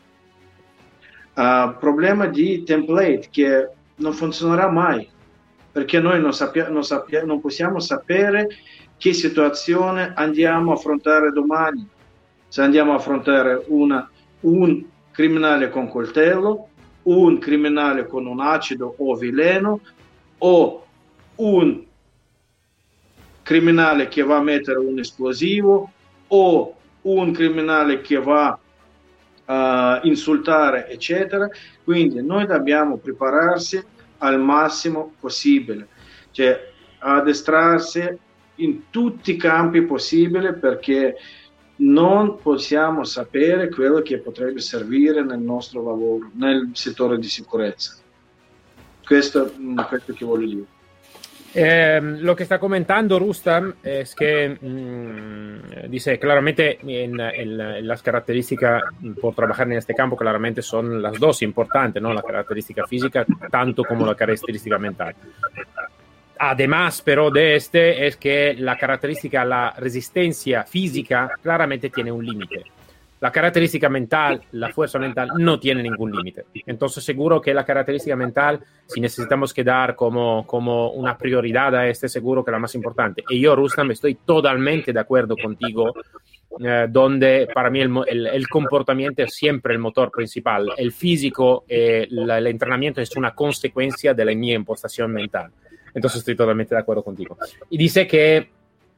B: uh, problema di template che non funzionerà mai, perché noi non, sappia, non, sappia, non possiamo sapere che situazione andiamo a affrontare domani, se andiamo a affrontare una, un criminale con coltello, un criminale con un acido o veleno, o un criminale che va a mettere un esplosivo, o un criminale che va a insultare, eccetera. Quindi noi dobbiamo prepararsi al massimo possibile, cioè addestrarsi in tutti i campi possibili, perché non possiamo sapere quello che potrebbe servire nel nostro lavoro, nel settore di sicurezza. Questo è questo che voglio dire.
A: Eh, lo que está comentando Rustam es que mmm, dice claramente en, en, en las características por trabajar en este campo, claramente son las dos importantes, ¿no? La característica física tanto como la característica mental. Además, pero de este es que la característica, la resistencia física claramente tiene un límite. La característica mental, la fuerza mental, no tiene ningún límite. Entonces, seguro que la característica mental, si necesitamos quedar como, como una prioridad a este, seguro que la más importante. Y yo, Rustam, estoy totalmente de acuerdo contigo, eh, donde para mí el, el, el comportamiento es siempre el motor principal. El físico, eh, la, el entrenamiento es una consecuencia de la mi impostación mental. Entonces, estoy totalmente de acuerdo contigo. Y dice que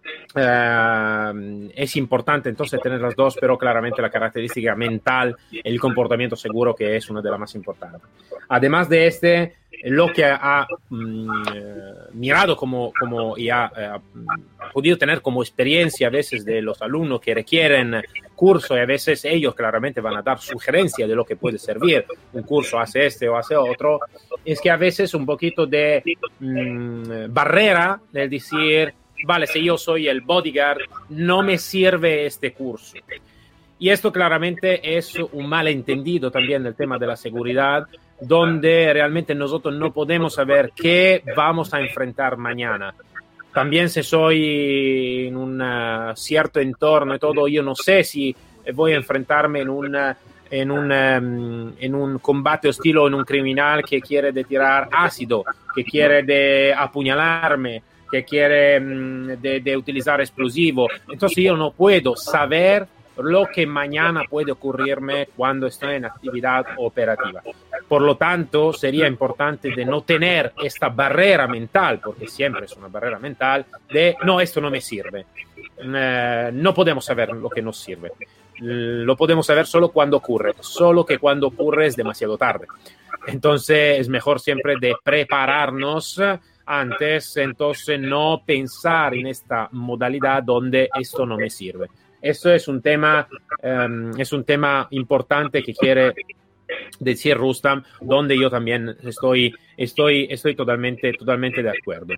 A: Uh, es importante entonces tener las dos, pero claramente la característica mental, el comportamiento seguro que es una de las más importantes. Además de este, lo que ha um, mirado como, como y ha uh, podido tener como experiencia a veces de los alumnos que requieren curso, y a veces ellos claramente van a dar sugerencia de lo que puede servir, un curso hace este o hace otro, es que a veces un poquito de mmm, barrera del decir, vale, si yo soy el bodyguard, no me sirve este curso. Y esto claramente es un malentendido también del tema de la seguridad, donde realmente nosotros no podemos saber qué vamos a enfrentar mañana. También si soy en un uh, cierto entorno y todo, yo no sé si voy a enfrentarme en, una, en, un, um, en un combate hostil o en un criminal que quiere de tirar ácido, que quiere de apuñalarme, que quiere um, de, de utilizar explosivo. Entonces yo no puedo saber lo que mañana puede ocurrirme cuando estoy en actividad operativa. Por lo tanto, sería importante de no tener esta barrera mental, porque siempre es una barrera mental, de no, esto no me sirve. Eh, no podemos saber lo que nos sirve. Lo podemos saber solo cuando ocurre, solo que cuando ocurre es demasiado tarde. Entonces, es mejor siempre de prepararnos antes, entonces no pensar en esta modalidad donde esto no me sirve. Eso es un tema, um, es un tema importante que quiere decir Rustam, donde yo también estoy, estoy, estoy totalmente, totalmente de acuerdo.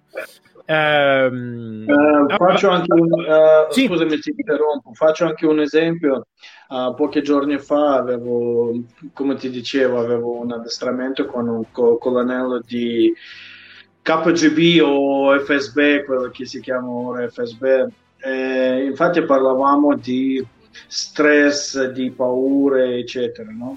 A: Um,
B: uh, faccio anche un, uh,
A: sì.
B: Scusami, ti interrompo, faccio anche un esempio. Uh, pochi giorni fa avevo, come ti dicevo, avevo un addestramento con un co- colonnello di K G B o F S B, quello che si chiama ora F S B. Eh, infatti parlavamo di stress, di paure, eccetera, no?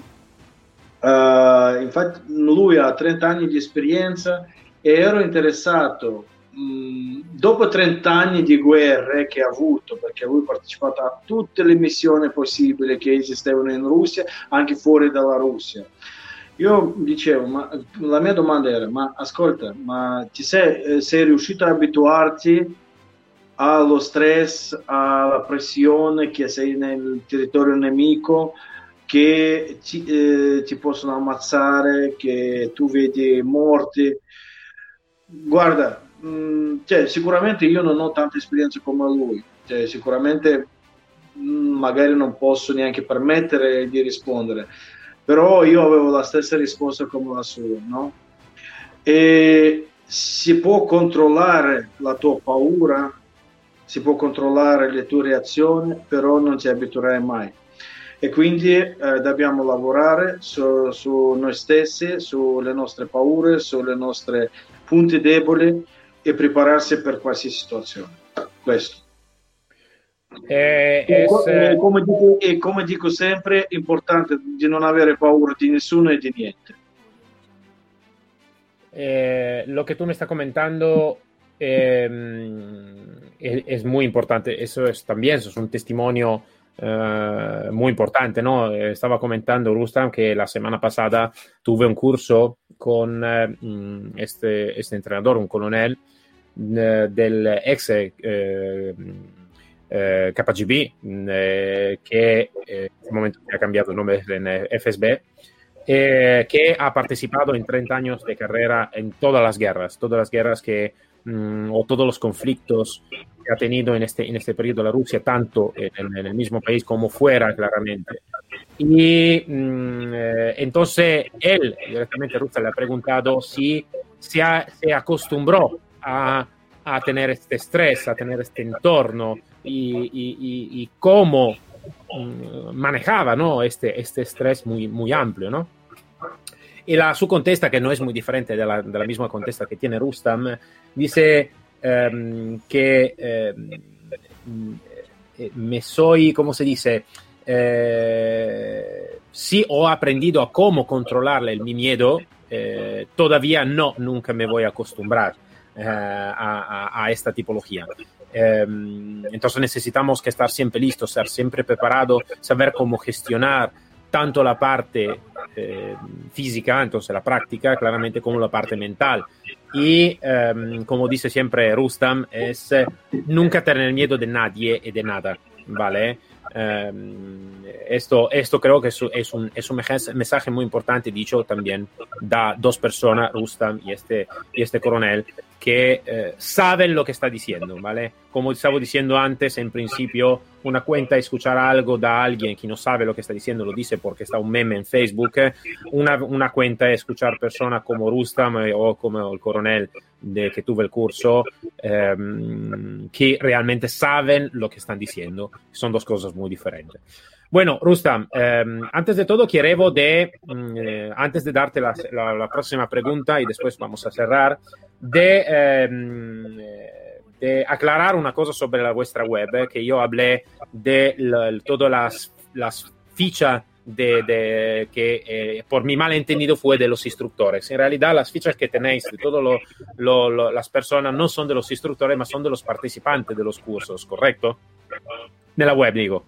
B: Uh, infatti lui ha trenta anni di esperienza e ero interessato, mh, dopo trenta anni di guerre che ha avuto, perché lui ha partecipato a tutte le missioni possibili che esistevano in Russia, anche fuori dalla Russia. Io dicevo, ma la mia domanda era, ma ascolta, ma ti sei, sei riuscito ad abituarti allo stress, alla pressione che sei nel territorio nemico, che ti, eh, ti possono ammazzare, che tu vedi morti? Guarda, mh, cioè, sicuramente io non ho tanta esperienza come lui, cioè, sicuramente mh, magari non posso neanche permettere di rispondere, però io avevo la stessa risposta come la sua, no? E si può controllare la tua paura, si può controllare le tue reazioni, però non ti abituerai mai. E quindi eh, dobbiamo lavorare su, su noi stessi, sulle nostre paure, sulle nostre punti deboli e prepararsi per qualsiasi situazione. Questo.
A: Eh,
B: e,
A: es,
B: e, come dico, e come dico sempre, è importante di non avere paura di nessuno e di niente.
A: Eh, lo que tú me estás comentando eh, es, es muy importante. Eso es también, eso es un testimonio Uh, muy importante, ¿no? Estaba comentando Rustam que la semana pasada tuve un curso con uh, este, este entrenador, un coronel uh, del ex uh, uh, K G B, uh, que uh, en este momento ha cambiado el nombre en F S B, eh, que ha participado en treinta años de carrera en todas las guerras, todas las guerras que um, o todos los conflictos que ha tenido en este, en este periodo la Rusia, tanto en, en el mismo país como fuera, claramente. Y mm, eh, entonces él, directamente Rusia, le ha preguntado si se, ha, se acostumbró a, a tener este estrés, a tener este entorno y, y, y, y cómo mm, manejaba, ¿no? este, este estrés muy, muy amplio, ¿no? Y la, su contesta, que no es muy diferente de la, de la misma contesta que tiene Rustam, dice Um, que um, me soy, ¿cómo se dice? Eh, sí, he aprendido a cómo controlarle el, mi miedo, eh, todavía no, nunca me voy a acostumbrar eh, a, a, a esta tipología. Eh, entonces necesitamos que estar siempre listos, estar siempre preparados, saber cómo gestionar tanto la parte eh, física, entonces la práctica, claramente, como la parte mental. Y, um, como dice siempre Rustam, es eh, nunca tener miedo de nadie y de nada, ¿vale? Um, esto, esto creo que es, es, un, es un mensaje muy importante, dicho también da dos personas, Rustam y este, y este coronel, que eh, saben lo que está diciendo, ¿vale? Como estaba diciendo antes, en principio, una cuenta escuchar algo da alguien que no sabe lo que está diciendo, lo dice porque está un meme en Facebook. Una, una cuenta es escuchar personas como Rustam eh, o como el coronel de que tuve el curso, eh, que realmente saben lo que están diciendo. Son dos cosas muy diferentes. Bueno, Rustam, eh, antes de todo quiero de, eh, antes de darte la, la, la próxima pregunta y después vamos a cerrar, de, eh, de aclarar una cosa sobre la vuestra web, eh, que yo hablé de la, todas las, las fichas de, de, que eh, por mi malentendido fue de los instructores. En realidad las fichas que tenéis de todas lo, lo, lo, las personas no son de los instructores, mas son de los participantes de los cursos, ¿correcto? De la web, digo.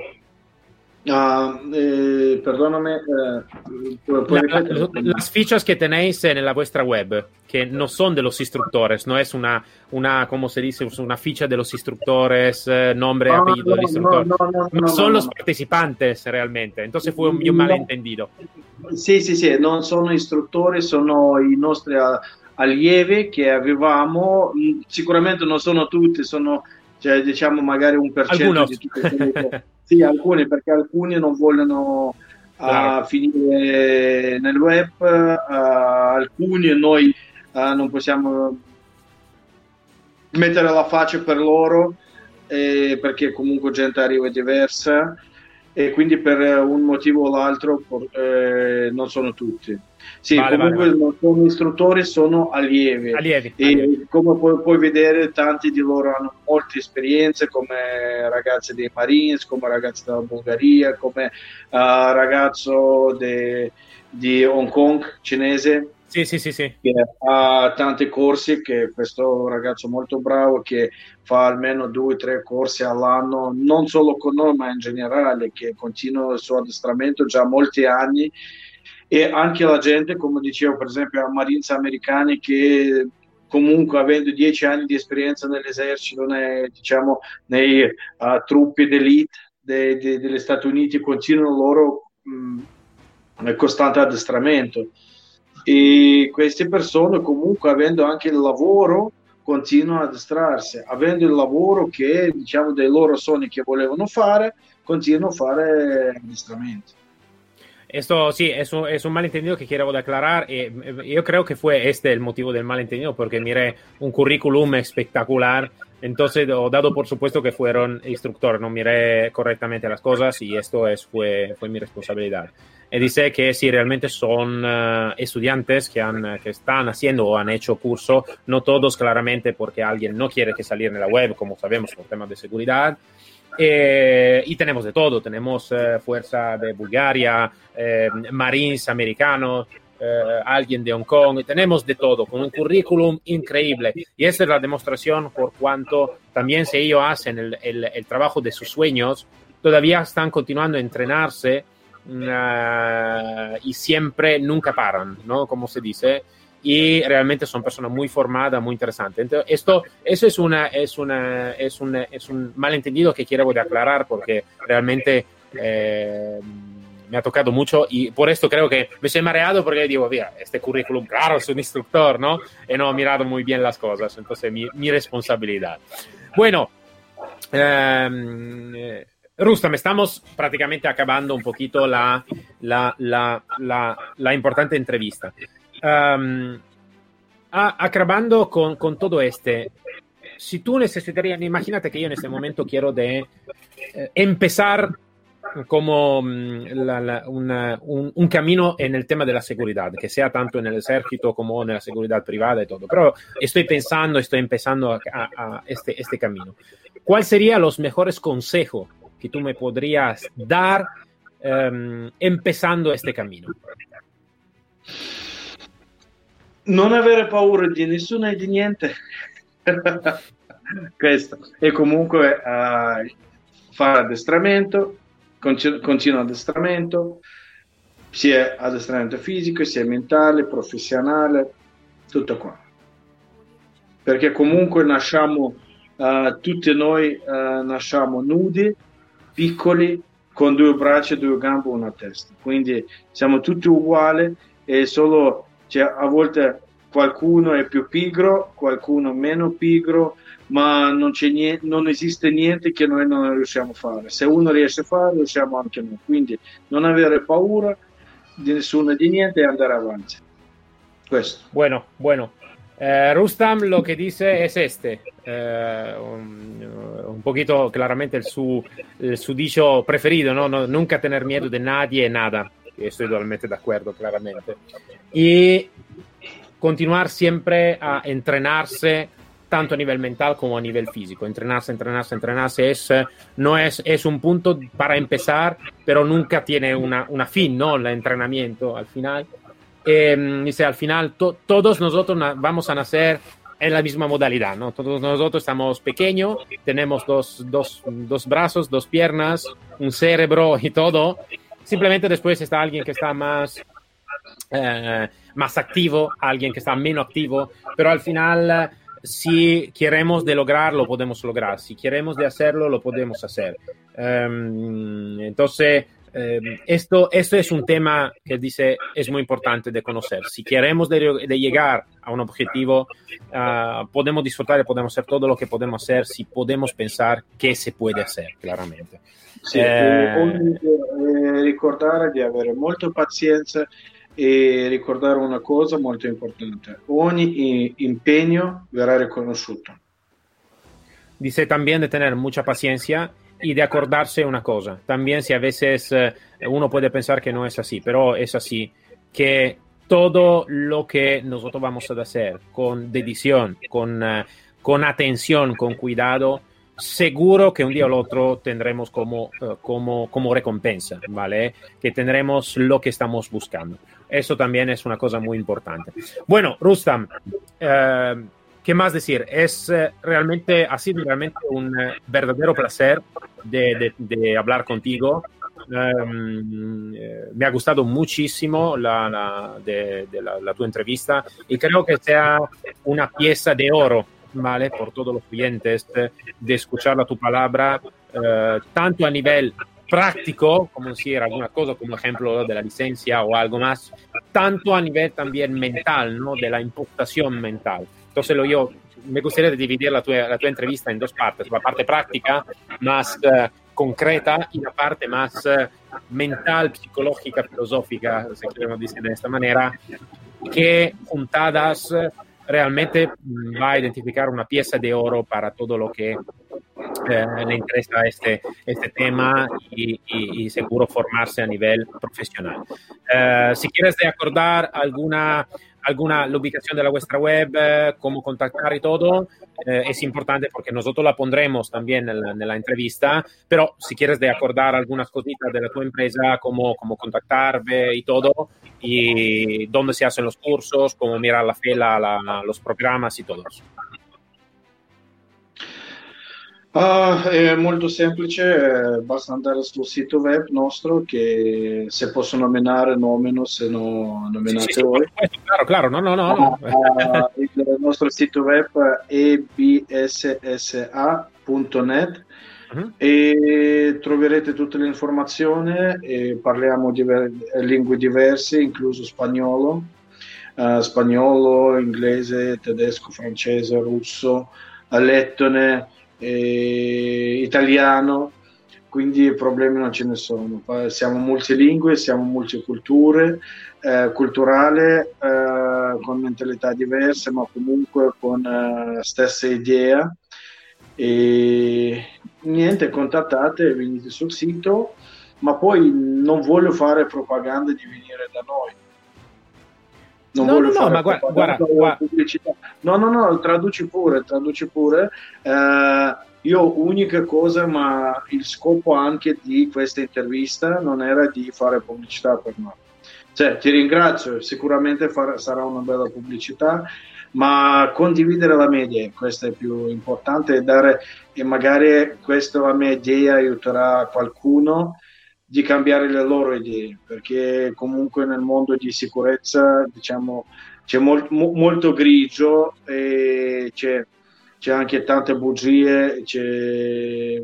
B: Uh, eh, perdóname, eh,
A: la, la, las fichas que tenéis en la vuestra web, que no son de los instructores, no es una, una ¿cómo se dice? Una ficha de los instructores, eh, nombre,
B: no,
A: apellido
B: no,
A: del instructor.
B: No, no, no,
A: no, son
B: no,
A: los
B: no.
A: partecipantes realmente, entonces fue un mio malentendido.
B: Sì, sì, sì, non sono istruttori, sono i nostri allievi che avevamo, sicuramente non sono tutti, sono, cioè, diciamo magari un per cento di tutti quelli che... Sì, alcuni, perché alcuni non vogliono
A: claro.
B: uh, finire nel web, uh, alcuni noi uh, non possiamo mettere la faccia per loro, eh, perché comunque gente arriva diversa e quindi per un motivo o l'altro eh, non sono tutti. Sì,
A: vale,
B: comunque
A: vale, vale.
B: non sono istruttori, sono allievi.
A: allievi,
B: e
A: allievi.
B: Come puoi, puoi vedere, tanti di loro hanno molte esperienze, come ragazzi dei Marines, come ragazzi della Bulgaria, come uh, ragazzo de, di Hong Kong cinese.
A: Sì, sì, sì, sì.
B: Che ha tanti corsi, che questo ragazzo molto bravo che fa almeno due o tre corsi all'anno, non solo con noi ma in generale, che continua il suo addestramento già molti anni. E anche la gente, come dicevo per esempio a Marines americani, che comunque avendo dieci anni di esperienza nell'esercito, nei, diciamo nei uh, truppi d'elite de, de, degli Stati Uniti, continuano loro mh, costante addestramento. E queste persone comunque, avendo anche il lavoro, continuano ad addestrarsi, avendo il lavoro che, diciamo, dei loro sogni che volevano fare, continuano a fare addestramento.
A: Esto sí, es un, es un malentendido que quiero aclarar. Eh, yo creo que fue este el motivo del malentendido, porque miré un currículum espectacular, entonces he dado por supuesto que fueron instructores, no miré correctamente las cosas y esto es, fue, fue mi responsabilidad. Y dice que si realmente son uh, estudiantes que, han, que están haciendo o han hecho curso, no todos claramente porque alguien no quiere que salir en la web, como sabemos, por temas de seguridad. Eh, y tenemos de todo, tenemos eh, fuerza de Bulgaria, eh, Marines americanos, eh, alguien de Hong Kong, tenemos de todo, con un currículum increíble. Y esa es la demostración por cuanto también si ellos hacen el, el, el trabajo de sus sueños, todavía están continuando a entrenarse uh, y siempre, nunca paran, ¿no? Como se dice. Y realmente son personas muy formadas, muy interesantes. Entonces, esto, eso es, una, es, una, es, un, es un malentendido que quiero de aclarar porque realmente eh, me ha tocado mucho y por esto creo que me estoy mareado porque digo, mira, este currículum, claro, es un instructor, ¿no? Y no he mirado muy bien las cosas, entonces mi, mi responsabilidad. Bueno, eh, Rustam, estamos prácticamente acabando un poquito la, la, la, la, la importante entrevista. Um, acabando con, con todo este, si tú necesitarías, imagínate que yo en este momento quiero de eh, empezar como la, la, una, un, un camino en el tema de la seguridad, que sea tanto en el ejército como en la seguridad privada y todo, pero estoy pensando, estoy empezando a, a, a este, este camino. ¿Cuál serían los mejores consejos que tú me podrías dar um, empezando este camino?
B: Non avere paura di nessuno e di niente. Questo. E comunque uh, fare addestramento, continu- continuo addestramento, sia addestramento fisico, sia mentale, professionale, tutto qua. Perché comunque nasciamo, uh, tutti noi uh, nasciamo nudi, piccoli, con due braccia, due gambe e una testa. Quindi siamo tutti uguali e solo... Cioè, a volte qualcuno è più pigro, qualcuno meno pigro, ma non, c'è niente, non esiste niente che noi non riusciamo a fare. Se uno riesce a fare, riusciamo anche noi. Quindi non avere paura di nessuno e di niente e andare avanti. Questo.
A: Bueno, bueno. Eh, Rustam lo que dice es este, eh, un, un poquito claramente el su, el su dicho preferido, ¿no? No, nunca tener miedo de nadie, nada. Estoy totalmente de acuerdo, claramente. Y continuar siempre a entrenarse tanto a nivel mental como a nivel físico. Entrenarse, entrenarse, entrenarse es, no es, es un punto para empezar, pero nunca tiene una, una fin, ¿no? El entrenamiento al final. Eh, dice, al final to, todos nosotros na- vamos a nacer en la misma modalidad, ¿no? Todos nosotros estamos pequeños, tenemos dos, dos, dos brazos, dos piernas, un cerebro y todo. Simplemente después está alguien que está más, eh, más activo, alguien que está menos activo, pero al final, si queremos de lograrlo, podemos lograr. Si queremos de hacerlo, lo podemos hacer. Um, entonces, eh, esto, esto es un tema que dice es muy importante de conocer. Si queremos de, de llegar a un objetivo, uh, podemos disfrutar y podemos hacer todo lo que podemos hacer si podemos pensar que se puede hacer, claramente.
B: Sì,
A: Eh,
B: ogni, eh, ricordare di avere molta pazienza e ricordare una cosa molto importante: ogni impegno verrà riconosciuto.
A: Dice también de tener mucha paciencia y de acordarse una cosa. También si a veces eh, uno puede pensar que no es así, pero es así, que todo lo que nosotros vamos a hacer con dedición, con, uh, con atención, con cuidado, seguro que un día o el otro tendremos como, uh, como, como recompensa, ¿vale? Que tendremos lo que estamos buscando. Eso también es una cosa muy importante. Bueno, Rustam, uh, ¿qué más decir? Es eh, realmente, ha sido realmente un eh, verdadero placer de, de, de hablar contigo. Um, eh, me ha gustado muchísimo la, la, de, de la, la tu entrevista y creo que sea una pieza de oro, ¿vale? Por todos los clientes, eh, de escuchar la tu palabra, eh, tanto a nivel práctico, como decir alguna cosa, como ejemplo de la licencia o algo más, tanto a nivel también mental, ¿no? De la imputación mental. Entonces lo, yo me gustaría dividir la tua, la tua entrevista en dos partes, la parte práctica más uh, concreta y la parte más uh, mental, psicológica, filosófica, si queremos decir de esta manera, que juntadas uh, realmente va a identificar una pieza de oro para todo lo que eh, le interesa este, este tema y, y, y seguro formarse a nivel profesional. Eh, si quieres de acordar alguna, alguna la ubicación de la vuestra web, eh, cómo contactar y todo, eh, es importante porque nosotros la pondremos también en la, en la entrevista, pero si quieres de acordar algunas cositas de la tu empresa, cómo, cómo contactarme y todo, y dónde se hacen los cursos, cómo mirar la fila, la, los programas y todo eso.
B: Ah, è molto semplice, eh, basta andare sul sito web nostro che se posso nominare nomino, se no nominate
A: sì, sì,
B: voi.
A: Sì, claro, claro, no, no, no. no.
B: Ah, il nostro sito web è e b s s a punto net uh-huh. E troverete tutte le informazioni e parliamo di lingue diverse, incluso spagnolo, uh, spagnolo, inglese, tedesco, francese, russo, lettone, e italiano, quindi problemi non ce ne sono. Siamo multilingue, siamo multiculture, eh, culturale, eh, con mentalità diverse, ma comunque con eh, stessa idea. E niente, contattate, venite sul sito, ma poi non voglio fare propaganda di venire da noi. Non
A: no,
B: voglio
A: no,
B: fare
A: no, ma guarda, guarda, guarda.
B: pubblicità. No, no, no, traduci pure, traduci pure. Eh, io unica cosa, ma il scopo anche di questa intervista non era di fare pubblicità per noi. Cioè, ti ringrazio, sicuramente far, sarà una bella pubblicità, ma condividere la mia idea, questo è più importante, e dare, e magari questa la mia idea aiuterà qualcuno di cambiare le loro idee, perché comunque nel mondo di sicurezza, diciamo, c'è molt, mo, molto grigio e c'è, c'è anche tante bugie, c'è,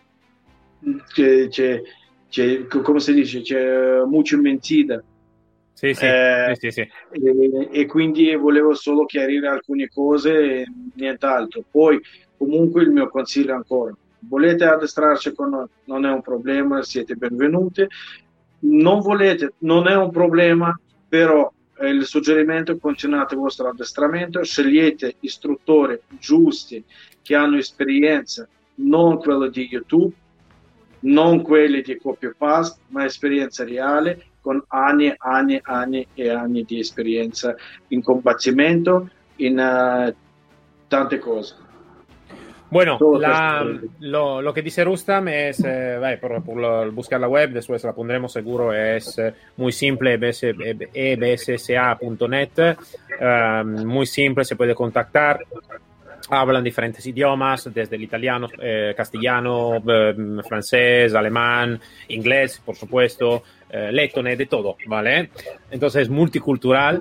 B: c'è, c'è, c'è come si dice, c'è mucho mentira,
A: Sì, sì,
B: Eh,
A: sì, sì, sì.
B: e, e quindi volevo solo chiarire alcune cose e nient'altro. Poi, comunque, il mio consiglio è ancora: volete addestrarci con noi? Non è un problema, siete benvenuti. Non volete, non è un problema, però eh, il suggerimento è: continuate il vostro addestramento, scegliete istruttori giusti che hanno esperienza, non quello di YouTube, non quelli di copy paste, ma esperienza reale, con anni e anni e anni e anni di esperienza in combattimento, in uh, tante cose.
A: Bueno,
B: Solo
A: la,
B: questo.
A: lo, lo que dice Rustam es, eh, vale, por, por lo- buscar la web, después la pondremos seguro, es eh, muy simple, e b s s a punto net, eh, muy simple, se puede contactar. Hablan diferentes idiomas, desde el italiano, eh, castellano, eh, francés, alemán, inglés, por supuesto, eh, letone, de todo, ¿vale? Entonces, multicultural.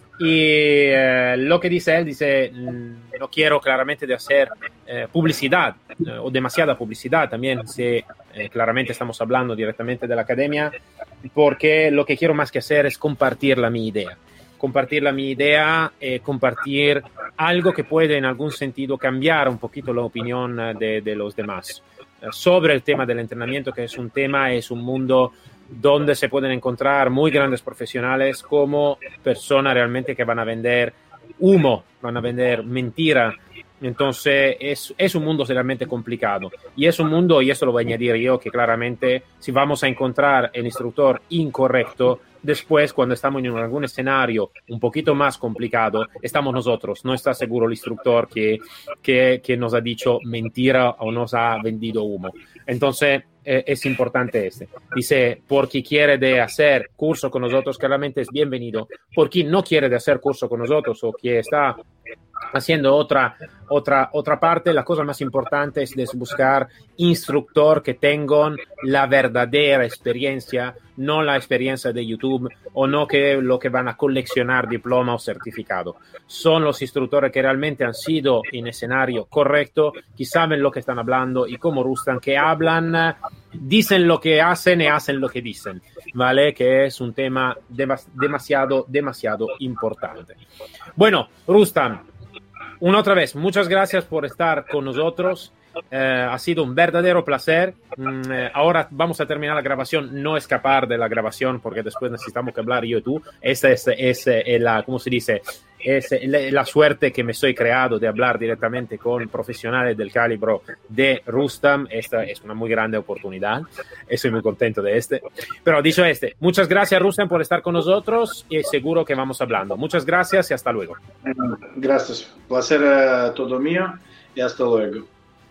A: Y eh, lo que dice él, dice, mm, no quiero claramente de hacer eh, publicidad eh, o demasiada publicidad también, si eh, claramente estamos hablando directamente de la academia, porque lo que quiero más que hacer es compartir la mi idea. Compartir la mi idea, eh, compartir algo que puede en algún sentido cambiar un poquito la opinión de, de los demás eh, sobre el tema del entrenamiento, que es un tema, es un mundo donde se pueden encontrar muy grandes profesionales como personas realmente que van a vender humo, van a vender mentira. Entonces es, es un mundo realmente complicado y es un mundo, y eso lo voy a añadir yo, que claramente si vamos a encontrar el instructor incorrecto, después cuando estamos en algún escenario un poquito más complicado, estamos nosotros, no está seguro el instructor que, que, que nos ha dicho mentira o nos ha vendido humo. Entonces eh, es importante este. Dice, por quien quiere de hacer curso con nosotros, claramente es bienvenido. Por quien no quiere de hacer curso con nosotros o que está haciendo otra, otra, otra parte, la cosa más importante es de buscar instructor que tengan la verdadera experiencia, no la experiencia de YouTube o no que lo que van a coleccionar diploma o certificado. Son los instructores que realmente han sido en escenario correcto, que saben lo que están hablando y como Rustam, que hablan, dicen lo que hacen y hacen lo que dicen, ¿vale? Que es un tema demas- demasiado, demasiado importante. Bueno, Rustam, una otra vez, muchas gracias por estar con nosotros. Eh, ha sido un verdadero placer. Mm, eh, ahora vamos a terminar la grabación, no escapar de la grabación porque después necesitamos que hablar yo y tú. Esta es, es, eh, la, ¿cómo se dice? Es eh, la, la suerte que me estoy creado de hablar directamente con profesionales del calibro de Rustam. Esta es una muy grande oportunidad. Estoy muy contento de este. Pero dicho este, muchas gracias Rustam por estar con nosotros y seguro que vamos hablando. Muchas gracias y hasta luego.
B: Gracias. Placer uh, todo mío y hasta luego.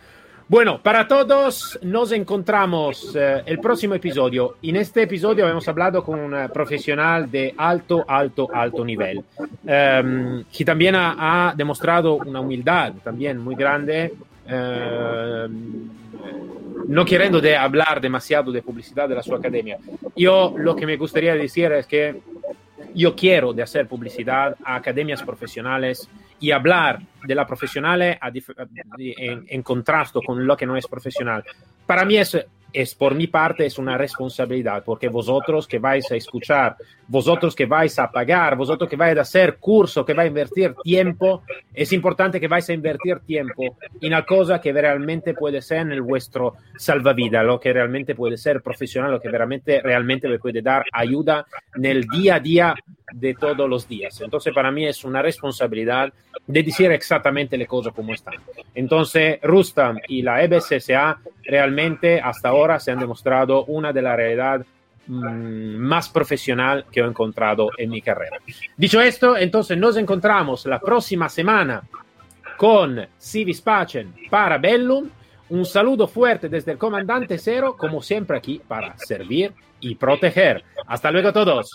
A: Bueno, para todos nos encontramos eh, el próximo episodio. En este episodio hemos hablado con un profesional de alto, alto, alto nivel, eh, que también ha, ha demostrado una humildad también muy grande, eh, no queriendo de hablar demasiado de publicidad de la su academia. Yo lo que me gustaría decir es que yo quiero de hacer publicidad a academias profesionales y hablar de la profesional a dif- en, en contrasto con lo que no es profesional. Para mí es, es, por mi parte, es una responsabilidad, porque vosotros que vais a escuchar, vosotros que vais a pagar, vosotros que vais a hacer curso, que vais a invertir tiempo, es importante que vais a invertir tiempo en una cosa que realmente puede ser en el vuestro salvavidas, lo que realmente puede ser profesional, lo que realmente, realmente me puede dar ayuda en el día a día de todos los días. Entonces, para mí es una responsabilidad de decir exactamente las cosas como están. Entonces, Rustam y la E B S S A realmente hasta ahora se han demostrado una de la realidad mmm, más profesional que he encontrado en mi carrera. Dicho esto, entonces nos encontramos la próxima semana con Si Vis Pacem para Bellum. Un saludo fuerte desde el comandante Cero, como siempre aquí para servir y proteger. Hasta luego todos.